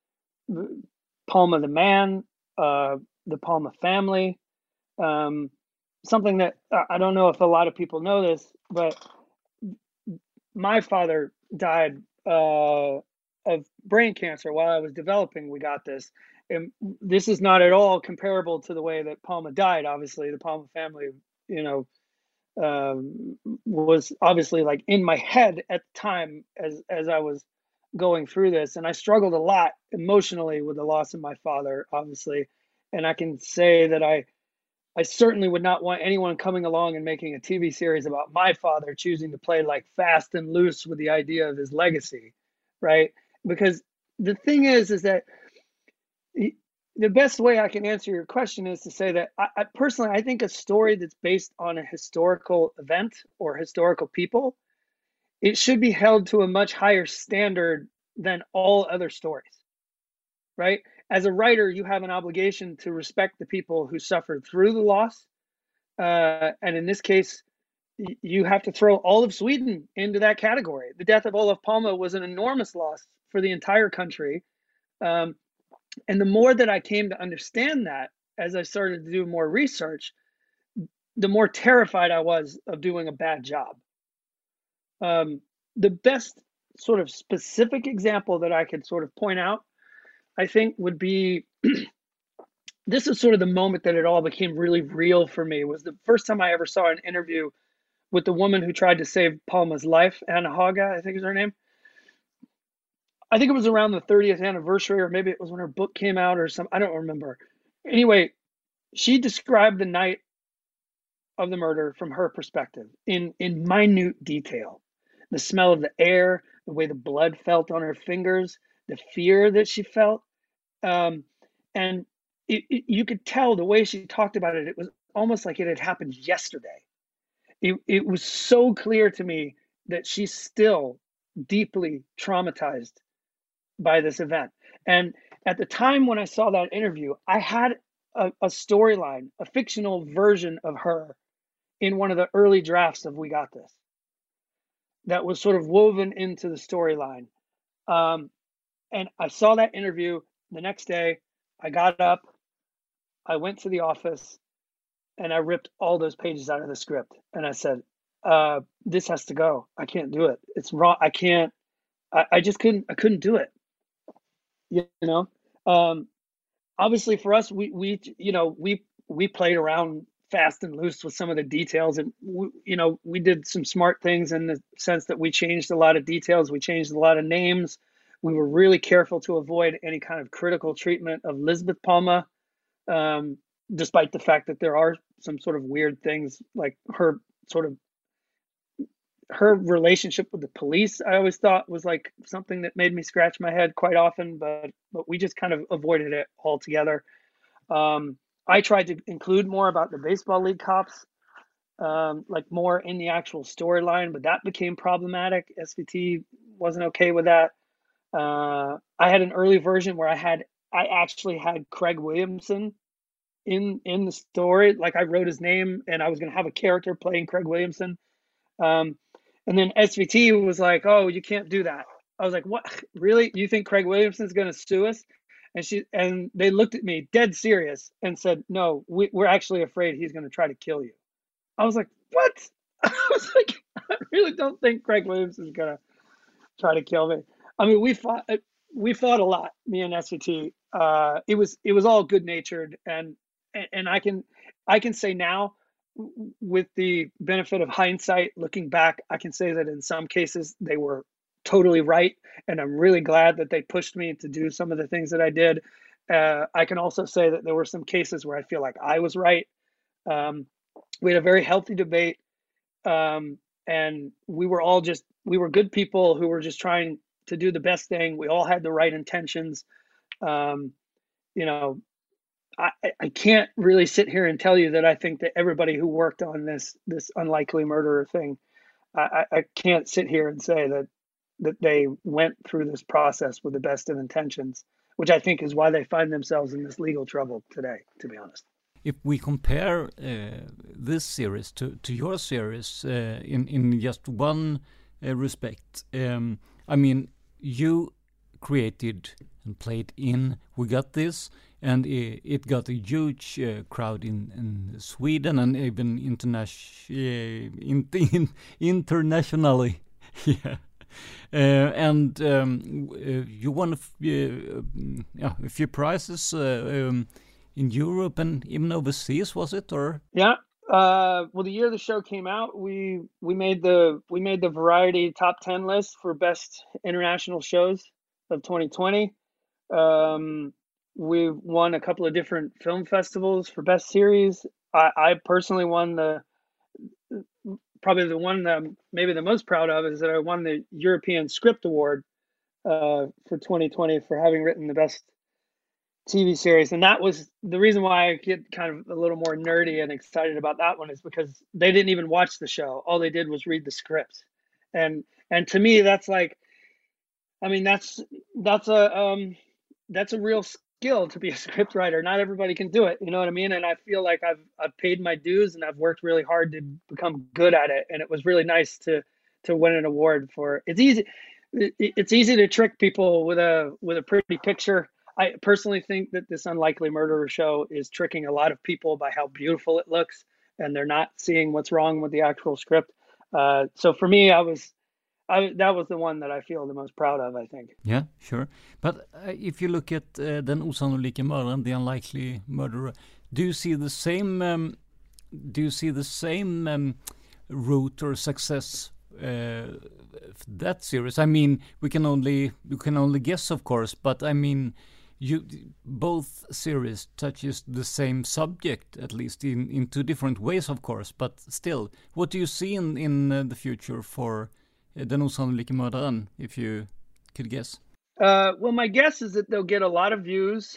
Palme the man, uh, the Palme family. Um, something that I don't know if a lot of people know this, but my father died uh, of brain cancer while I was developing We Got This. And this is not at all comparable to the way that Palme died. Obviously, the Palme family, you know, um, was obviously like in my head at the time as, as I was going through this. And I struggled a lot emotionally with the loss of my father, obviously. And I can say that I, I certainly would not want anyone coming along and making a T V series about my father choosing to play like fast and loose with the idea of his legacy, right? Because the thing is, is that he, the best way I can answer your question is to say that I, I personally, I think a story that's based on a historical event or historical people, it should be held to a much higher standard than all other stories, right? As a writer, you have an obligation to respect the people who suffered through the loss. Uh, and in this case, y- you have to throw all of Sweden into that category. The death of Olof Palme was an enormous loss for the entire country. Um, and the more that I came to understand that, as I started to do more research, the more terrified I was of doing a bad job. Um, the best sort of specific example that I could sort of point out, I think, would be this is sort of the moment that it all became really real for me. Was the first time I ever saw an interview with the woman who tried to save Palma's life, Anna Haga, I think is her name. I think it was around the thirtieth anniversary, or maybe it was when her book came out or something. I don't remember. Anyway, she described the night of the murder from her perspective in, in minute detail. The smell of the air, the way the blood felt on her fingers, the fear that she felt. Um, and it, it, you could tell the way she talked about it, it was almost like it had happened yesterday. It, it was so clear to me that she's still deeply traumatized by this event. And at the time when I saw that interview, I had a, a storyline, a fictional version of her in one of the early drafts of We Got This that was sort of woven into the storyline. Um, and I saw that interview the next day. I got up, I went to the office, and I ripped all those pages out of the script. And I said, uh, this has to go. I can't do it. It's wrong. I can't, I, I just couldn't, I couldn't do it. You know, um, obviously for us, we, we, you know, we, we played around fast and loose with some of the details, and we, you know, we did some smart things in the sense that we changed a lot of details. We changed a lot of names. We were really careful to avoid any kind of critical treatment of Lisbeth Palme, um, despite the fact that there are some sort of weird things like her sort of her relationship with the police. I always thought was like something that made me scratch my head quite often, but but we just kind of avoided it altogether. Um, I tried to include more about the baseball league cops, um, like more in the actual storyline, but that became problematic. S V T wasn't okay with that. Uh, I had an early version where I had I actually had Craig Williamson in in the story. Like I wrote his name, and I was going to have a character playing Craig Williamson. Um, and then S V T was like, "Oh, you can't do that." I was like, "What? Really? You think Craig Williamson's going to sue us?" And she and they looked at me dead serious and said, "No, we, we're actually afraid he's going to try to kill you." I was like, "What?" I was like, "I really don't think Craig Williamson's going to try to kill me." I mean, we fought we fought a lot, me and S V T. Uh, it was it was all good natured, and and I can I can say now, with the benefit of hindsight, looking back, I can say that in some cases they were totally right, and I'm really glad that they pushed me to do some of the things that I did. Uh, I can also say that there were some cases where I feel like I was right. Um, we had a very healthy debate, um, and we were all just we were good people who were just trying to do the best thing. We all had the right intentions. Um, you know, I, I can't really sit here and tell you that I think that everybody who worked on this this unlikely murderer thing, I, I can't sit here and say that that they went through this process with the best of intentions, which I think is why they find themselves in this legal trouble today, to be honest. If we compare uh, this series to, to your series uh, in, in just one uh, respect, um, I mean, you created and played in We Got This, and it, it got a huge uh, crowd in, in Sweden and even internation, uh, in, in, internationally. yeah. Uh, and um, uh, you won a, f- uh, yeah, a few prizes uh, um, in Europe and even overseas, was it? Or yeah, uh, well, the year the show came out, we we made the we made the Variety top ten list for best international shows of twenty twenty. Um, we won a couple of different film festivals for best series. I, I personally won the, probably the one that I'm maybe the most proud of is that I won the European Script Award uh, for twenty twenty for having written the best T V series. And that was the reason why I get kind of a little more nerdy and excited about that one, is because they didn't even watch the show. All they did was read the script. And, and to me, that's like, I mean, that's, that's a, um, that's a real skill to be a script writer. Not everybody can do it. You know what I mean? And I feel like I've, I've paid my dues and I've worked really hard to become good at it. And it was really nice to, to win an award for, it's easy. It's easy to trick people with a, with a pretty picture. I personally think that this Unlikely Murderer show is tricking a lot of people by how beautiful it looks, and they're not seeing what's wrong with the actual script. Uh, so for me, I was, I, that was the one that I feel the most proud of, I think. Yeah, sure. But uh, if you look at uh, Den osannolike mördaren, The Unlikely Murderer, do you see the same, um, do you see the same um, route or success uh, that series? I mean, we can only, we can only guess, of course, but I mean, You, both series touches the same subject, at least in, in two different ways, of course. But still, what do you see in, in uh, the future for uh, Den osannolike mördaren, if you could guess? Uh, well, my guess is that they'll get a lot of views.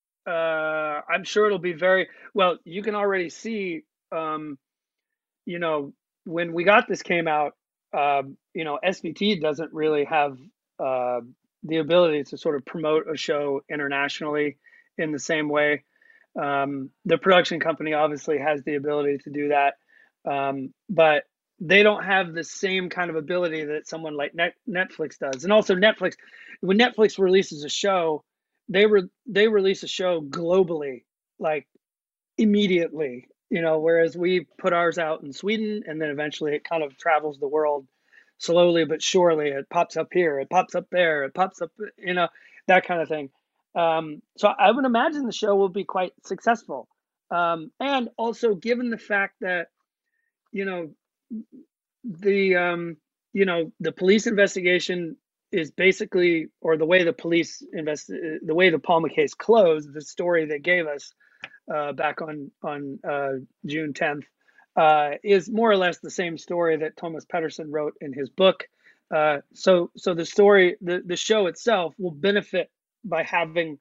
Uh, I'm sure it'll be very, well, you can already see, um, you know, when We Got This came out, uh, you know, S V T doesn't really have... Uh, the ability to sort of promote a show internationally in the same way. Um, the production company obviously has the ability to do that, um, but they don't have the same kind of ability that someone like Net- Netflix does. And also Netflix, when Netflix releases a show, they re- they release a show globally, like immediately, you know, whereas we put ours out in Sweden and then eventually it kind of travels the world slowly but surely. It pops up here, it pops up there, it pops up, you know, that kind of thing. Um, so I would imagine the show will be quite successful. Um, and also given the fact that, you know, the, um, you know, the police investigation is basically, or the way the police invest, the way the Palmer case closed, the story they gave us uh, back on, on uh, June tenth, Uh, is more or less the same story that Thomas Pettersson wrote in his book. Uh, so, so the story, the, the show itself will benefit by having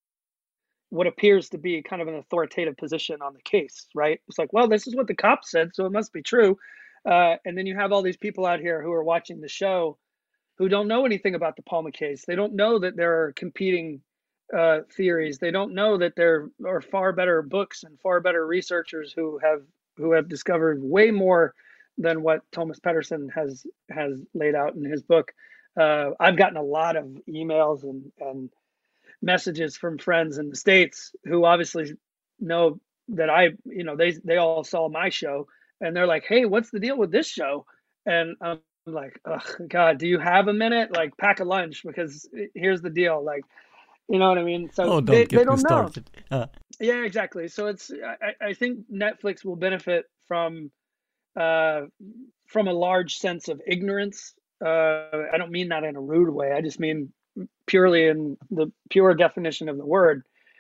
what appears to be kind of an authoritative position on the case, right? It's like, well, this is what the cops said, so it must be true. Uh, and then you have all these people out here who are watching the show who don't know anything about the Palmer case. They don't know that there are competing uh, theories. They don't know that there are far better books and far better researchers who have who have discovered way more than what Thomas Pettersson has has laid out in his book. Uh, I've gotten a lot of emails and, and messages from friends in the States who obviously know that I, you know, they they all saw my show and they're like, hey, what's the deal with this show? And I'm like, oh, God, do you have a minute? Like, pack a lunch, because here's the deal. Like, you know what I mean? So oh, don't they, get they don't me know. started. Uh. Yeah, exactly. So it's, I, I think Netflix will benefit from, uh, from a large sense of ignorance. Uh, I don't mean that in a rude way. I just mean purely in the pure definition of the word.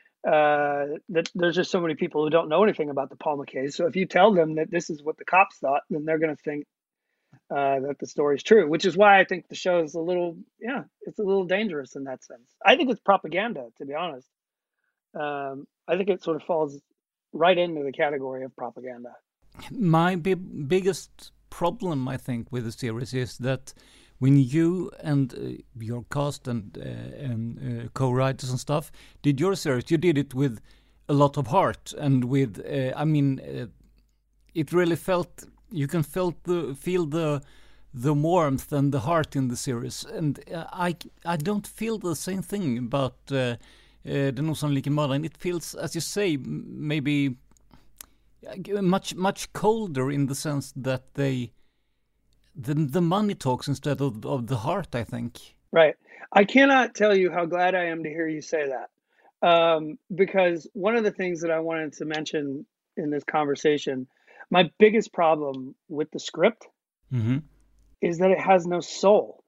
Uh, that there's just so many people who don't know anything about the Palmer case. So if you tell them that this is what the cops thought, then they're going to think uh, that the story is true, which is why I think the show is a little, yeah, it's a little dangerous in that sense. I think it's propaganda, to be honest. Um, I think it sort of falls right into the category of propaganda. My bi- biggest problem, I think, with the series is that when you and uh, your cast and, uh, and uh, co-writers and stuff did your series, you did it with a lot of heart and with, uh, I mean, uh, it really felt, you can felt the, feel the the warmth and the heart in the series. And uh, I, I don't feel the same thing about uh, uh, Den osannolike mördaren. It feels, as you say, maybe much much colder in the sense that they the the money talks instead of of the heart, I think. Right. I cannot tell you how glad I am to hear you say that, um, because one of the things that I wanted to mention in this conversation, my biggest problem with the script mm-hmm. is that it has no soul.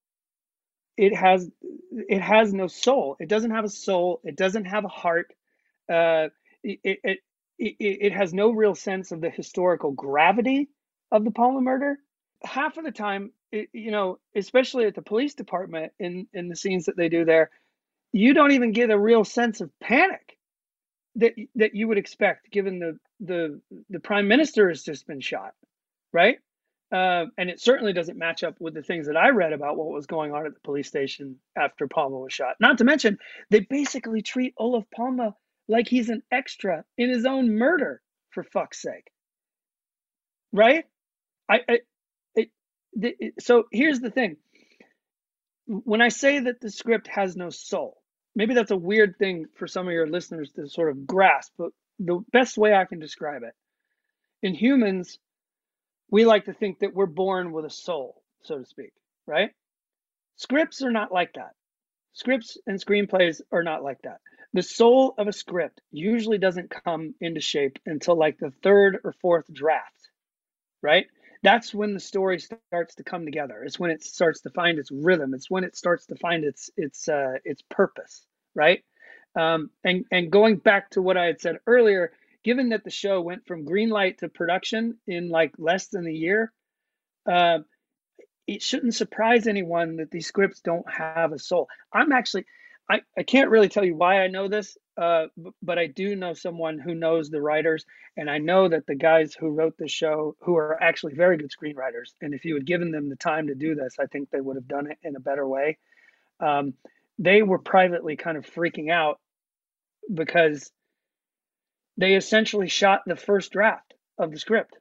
It has it has no soul. It doesn't have a soul. It doesn't have a heart. Uh, it, it it, it has no real sense of the historical gravity of the Palmer murder. Half of the time, it, you know, especially at the police department in, in the scenes that they do there, you don't even get a real sense of panic that that you would expect, given the the the prime minister has just been shot, right? Uh, and it certainly doesn't match up with the things that I read about what was going on at the police station after Palmer was shot. Not to mention, they basically treat Olof Palme like he's an extra in his own murder, for fuck's sake, right? I, I it, the, so here's the thing. When I say that the script has no soul, maybe that's a weird thing for some of your listeners to sort of grasp, but the best way I can describe it, in humans, we like to think that we're born with a soul, so to speak, right? Scripts are not like that. Scripts and screenplays are not like that. The soul of a script usually doesn't come into shape until like the third or fourth draft, right? That's when the story starts to come together. It's when it starts to find its rhythm. It's when it starts to find its its uh, its purpose, right? Um, and and going back to what I had said earlier, given that the show went from green light to production in like less than a year, uh, it shouldn't surprise anyone that these scripts don't have a soul. I'm actually, I, I can't really tell you why I know this, uh, but I do know someone who knows the writers, and I know that the guys who wrote the show, who are actually very good screenwriters, and if you had given them the time to do this, I think they would have done it in a better way. Um, they were privately kind of freaking out because they essentially shot the first draft of the script,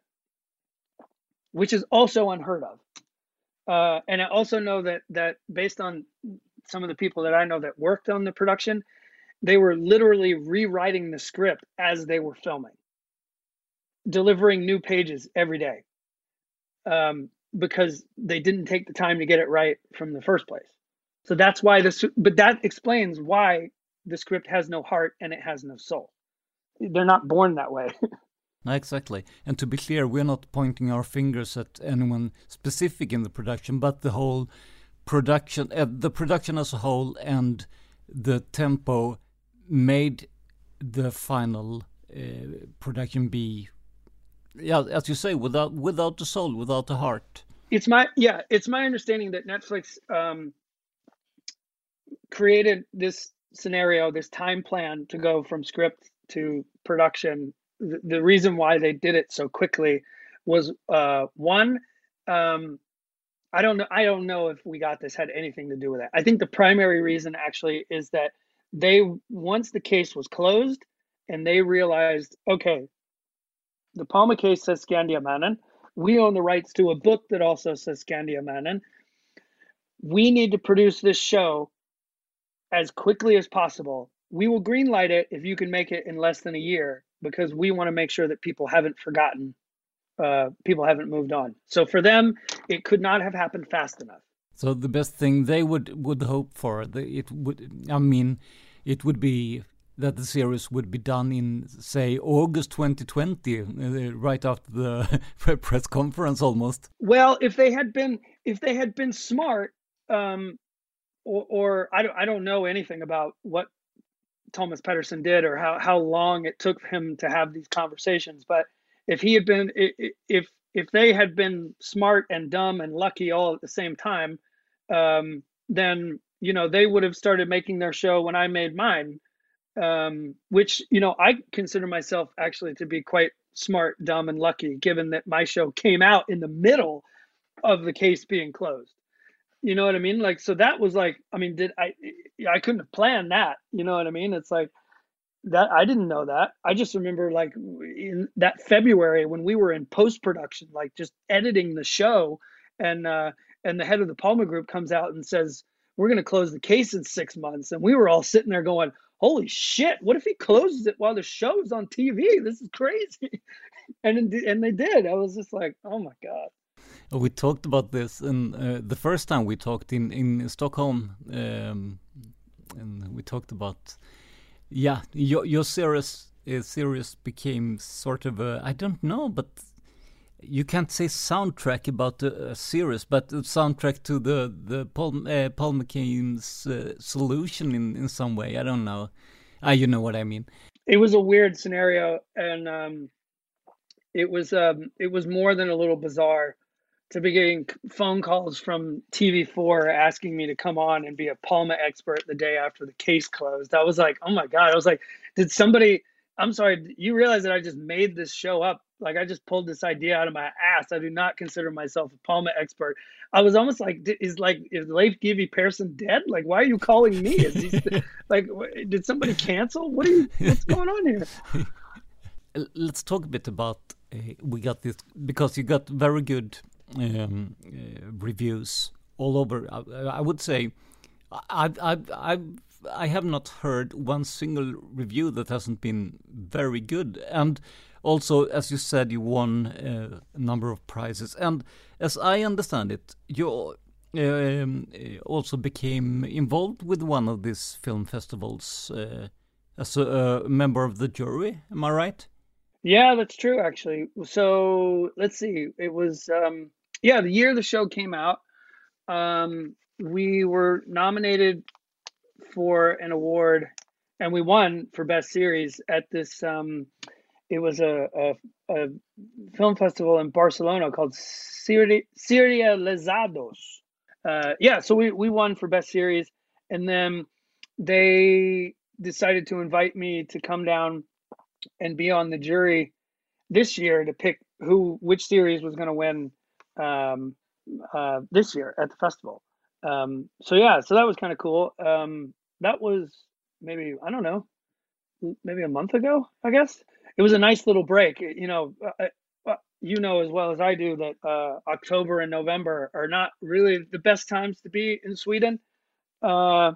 which is also unheard of. Uh, and I also know that that based on some of the people that I know that worked on the production, they were literally rewriting the script as they were filming, delivering new pages every day, um, because they didn't take the time to get it right from the first place. So that's why this, but that explains why the script has no heart and it has no soul. They're not born that way. No, exactly. And to be clear, we're not pointing our fingers at anyone specific in the production, but the whole production, uh, the production as a whole, and the tempo made the final uh, production be, yeah, as you say, without without the soul, without the heart. It's my yeah, it's my understanding that Netflix um, created this scenario, this time plan to go from script to production. The, the reason why they did it so quickly was uh, one. Um, I don't know. I don't know if We Got This had anything to do with it. I think the primary reason actually is that they, once the case was closed and they realized, okay, the Palme case says Skandiamannen. We own the rights to a book that also says Skandiamannen. We need to produce this show as quickly as possible. We will greenlight it if you can make it in less than a year, because we want to make sure that people haven't forgotten, uh, people haven't moved on. So for them, it could not have happened fast enough. So the best thing they would, would hope for, the, it would, I mean, it would be that the series would be done in, say, August twenty twenty, uh, right after the press conference almost. Well, if they had been, if they had been smart, um, or, or I don't, I don't know anything about what Thomas Pedersen did or how, how long it took him to have these conversations. But if he had been, if if they had been smart and dumb and lucky all at the same time, um, then, you know, they would have started making their show when I made mine, um, which, you know, I consider myself actually to be quite smart, dumb, and lucky, given that my show came out in the middle of the case being closed. You know what I mean? Like, so that was like, I mean, did I, I couldn't have planned that. You know what I mean? It's like that. I didn't know that. I just remember like in that February when we were in post-production, like just editing the show, and, uh, and the head of the Palme Group comes out and says, we're going to close the case in six months. And we were all sitting there going, holy shit, what if he closes it while the show's on T V? This is crazy. and, and they did. I was just like, oh my God. We talked about this, and uh, the first time we talked in in Stockholm, um, and we talked about, yeah, your your series uh, series became sort of a, I don't know, but you can't say soundtrack about the uh, series, but the soundtrack to the the Paul uh, Paul McCann's uh, solution in in some way. I don't know. Ah, you know what I mean. it was a weird scenario, and um, it was um, it was more than a little bizarre to be getting phone calls from T V four asking me to come on and be a Palma expert the day after the case closed. I was like, oh my God. I was like, did somebody, I'm sorry, you realize that I just made this show up? Like, I just pulled this idea out of my ass. I do not consider myself a Palma expert. I was almost like, is like, is Leif G W Persson dead? Like, why are you calling me? Is he like, did somebody cancel? What are you, what's going on here? Let's talk a bit about, uh, we got this, because you got very good um, uh, reviews all over. I, I would say, I, I, I, I have not heard one single review that hasn't been very good. And also, as you said, you won uh, a number of prizes. And as I understand it, you um, also became involved with one of these film festivals uh, as a, a member of the jury. Am I right? Yeah, that's true, actually. So let's see. It was, um, yeah, the year the show came out, um, we were nominated for an award, and we won for Best Series at this, um, it was a, a, a film festival in Barcelona called Seri- Serializados. Uh, yeah, so we, we won for Best Series, and then they decided to invite me to come down and be on the jury this year to pick who, which series was going to win um, uh, this year at the festival. Um, so yeah, so that was kind of cool. Um, that was maybe, I don't know, maybe a month ago, I guess. It was a nice little break. You know, uh, you know as well as I do that uh, October and November are not really the best times to be in Sweden. Uh,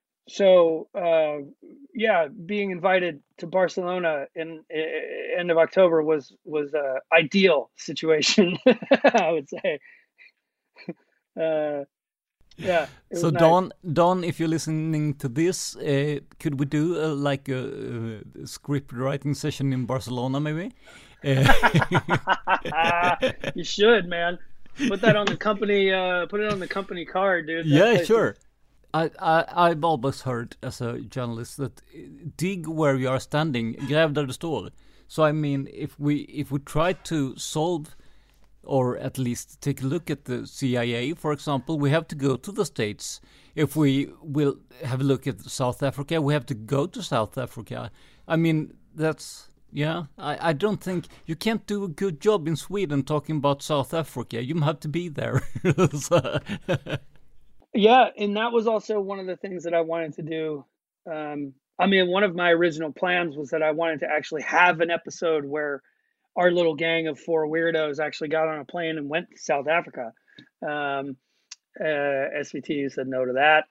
So, uh, yeah, being invited to Barcelona in, in end of October was was a ideal situation, I would say. Uh, yeah. So nice. Don, Don, if you're listening to this, uh, could we do uh, like a, a script writing session in Barcelona, maybe? Uh. You should, man. Put that on the company. Uh, put it on the company card, dude. That yeah, sure. I, I, I've always heard as a journalist that dig where you are standing, gräv där du står. So I mean, if we if we try to solve, or at least take a look at the C I A, for example, we have to go to the States. If we will have a look at South Africa, we have to go to South Africa. I mean, that's, yeah, I, I don't think, you can't do a good job in Sweden talking about South Africa. You have to be there. So, yeah, and that was also one of the things that I wanted to do. Um, I mean, one of my original plans was that I wanted to actually have an episode where our little gang of four weirdos actually got on a plane and went to South Africa. Um, uh, S V T said no to that.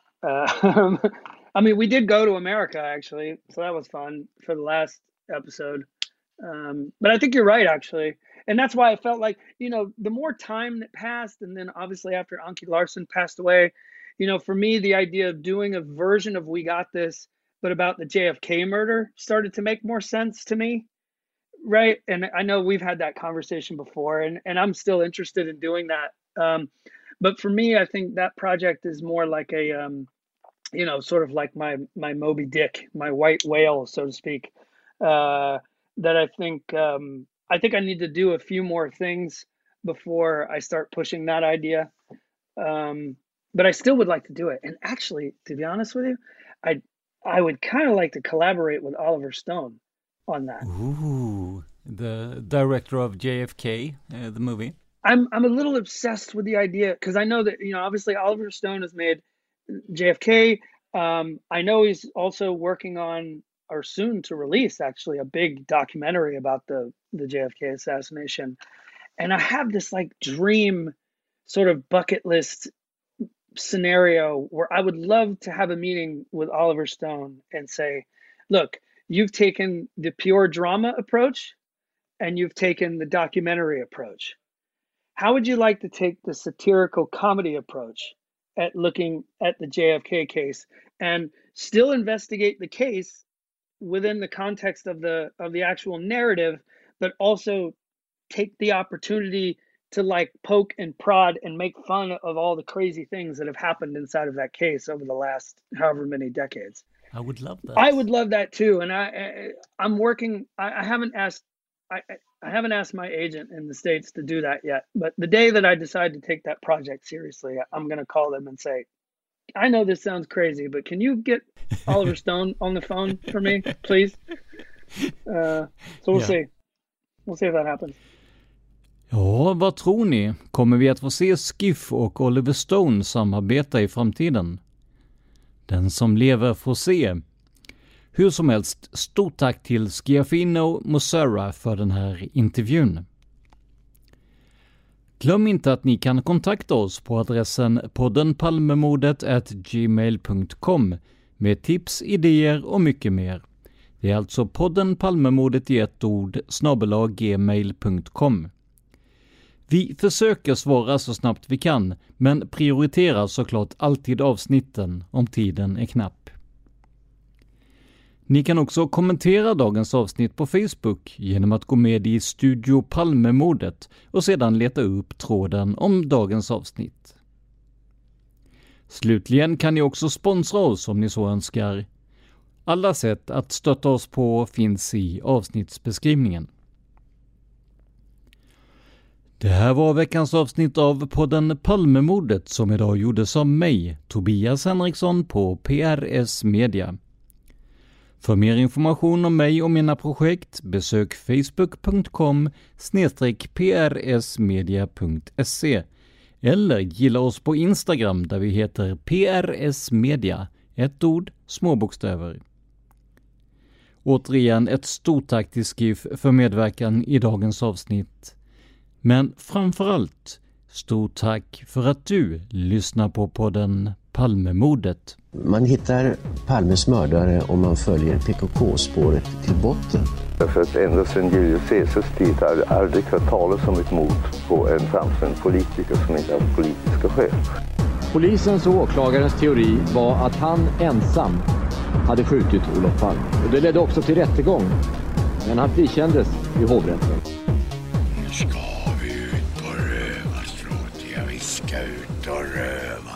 Uh, I mean, we did go to America, actually, so that was fun for the last episode. Um, but I think you're right, actually. And that's why I felt like, you know, the more time that passed, and then obviously after Anki Larsen passed away, you know, for me, the idea of doing a version of We Got This, but about the J F K murder started to make more sense to me. Right. And I know we've had that conversation before, and, and I'm still interested in doing that. Um, but for me, I think that project is more like a, um, you know, sort of like my, my Moby Dick, my white whale, so to speak, uh, that I think, um, I think I need to do a few more things before I start pushing that idea. Um, but I still would like to do it. And actually, to be honest with you, I I would kind of like to collaborate with Oliver Stone on that. Ooh, the director of J F K, uh, the movie. I'm I'm a little obsessed with the idea because I know that, you know, obviously Oliver Stone has made J F K. Um, I know he's also working on, or soon to release, actually, a big documentary about the, the J F K assassination. And I have this like dream sort of bucket list scenario where I would love to have a meeting with Oliver Stone and say, look, you've taken the pure drama approach and you've taken the documentary approach. How would you like to take the satirical comedy approach at looking at the J F K case and still investigate the case within the context of the of the actual narrative, but also take the opportunity to like poke and prod and make fun of all the crazy things that have happened inside of that case over the last however many decades? I would love that. I would love that too. And I, I I'm working. I, I haven't asked. I I haven't asked my agent in the States to do that yet. But the day that I decide to take that project seriously, I'm going to call them and say, I know this sounds crazy, but can you get Oliver Stone on the phone for me, please? Uh, so we'll yeah. see. We'll see if that happens. Ja, vad tror ni? Kommer vi att få se Skiff och Oliver Stone samarbeta i framtiden? Den som lever får se. Hur som helst, stort tack till Schiaffino Mosera för den här intervjun. Glöm inte att ni kan kontakta oss på adressen poddenpalmemordet at gmail dot com med tips, idéer och mycket mer. Det är alltså poddenpalmemordet i ett ord snabel-a gmail dot com. Vi försöker svara så snabbt vi kan, men prioriterar såklart alltid avsnitten om tiden är knapp. Ni kan också kommentera dagens avsnitt på Facebook genom att gå med i Studio Palmemordet och sedan leta upp tråden om dagens avsnitt. Slutligen kan ni också sponsra oss om ni så önskar. Alla sätt att stötta oss på finns i avsnittsbeskrivningen. Det här var veckans avsnitt av podden Palmemordet som idag gjordes av mig, Tobias Henriksson på P R S Media. För mer information om mig och mina projekt besök facebook dot com snedstreck p r s media dot se eller gilla oss på Instagram där vi heter P R S Media, ett ord, små bokstäver. Återigen ett stort tack till Skiff för medverkan i dagens avsnitt. Men framförallt, stort tack för att du lyssnar på podden Palmemordet. Man hittar Palmes mördare om man följer P K K-spåret till botten. Därför att ända sedan Julius Caesars tid har jag aldrig hört talas om ett mord på en framstående politiker som inte har politiska skäl. Polisens och åklagarens teori var att han ensam hade skjutit Olof Palme. Och det ledde också till rättegång, men han frikändes i hovrätten. Nu ska vi ut på rövarstråt, ja vi ska ut och röva.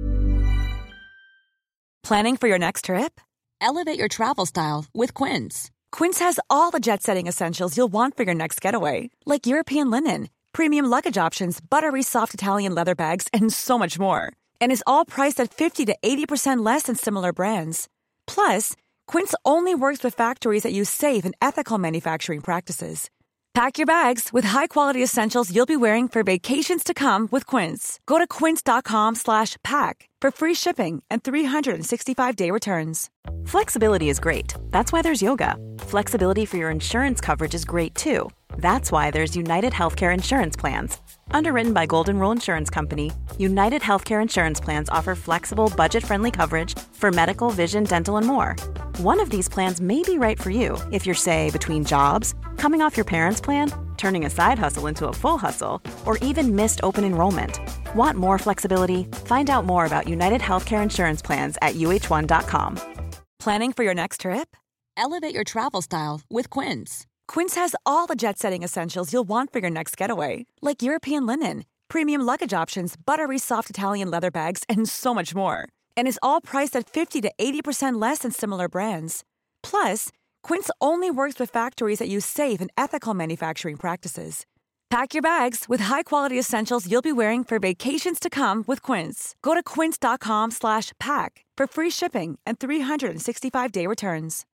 Planning for your next trip? Elevate your travel style with Quince. Quince has all the jet-setting essentials you'll want for your next getaway, like European linen, premium luggage options, buttery soft Italian leather bags, and so much more. And is all priced at fifty to eighty percent less than similar brands. Plus, Quince only works with factories that use safe and ethical manufacturing practices. Pack your bags with high-quality essentials you'll be wearing for vacations to come with Quince. Go to quince dot com slash pack for free shipping and three sixty-five day returns. Flexibility is great. That's why there's yoga. Flexibility for your insurance coverage is great too. That's why there's United Healthcare Insurance Plans. Underwritten by Golden Rule Insurance Company, United Healthcare Insurance Plans offer flexible, budget-friendly coverage for medical, vision, dental, and more. One of these plans may be right for you if you're, say, between jobs, coming off your parents' plan, turning a side hustle into a full hustle, or even missed open enrollment. Want more flexibility? Find out more about United Healthcare Insurance Plans at U H one dot com. Planning for your next trip? Elevate your travel style with Quince. Quince has all the jet-setting essentials you'll want for your next getaway, like European linen, premium luggage options, buttery soft Italian leather bags, and so much more. And is all priced at fifty to eighty percent less than similar brands. Plus, Quince only works with factories that use safe and ethical manufacturing practices. Pack your bags with high-quality essentials you'll be wearing for vacations to come with Quince. Go to quince dot com slash pack for free shipping and three sixty-five day returns.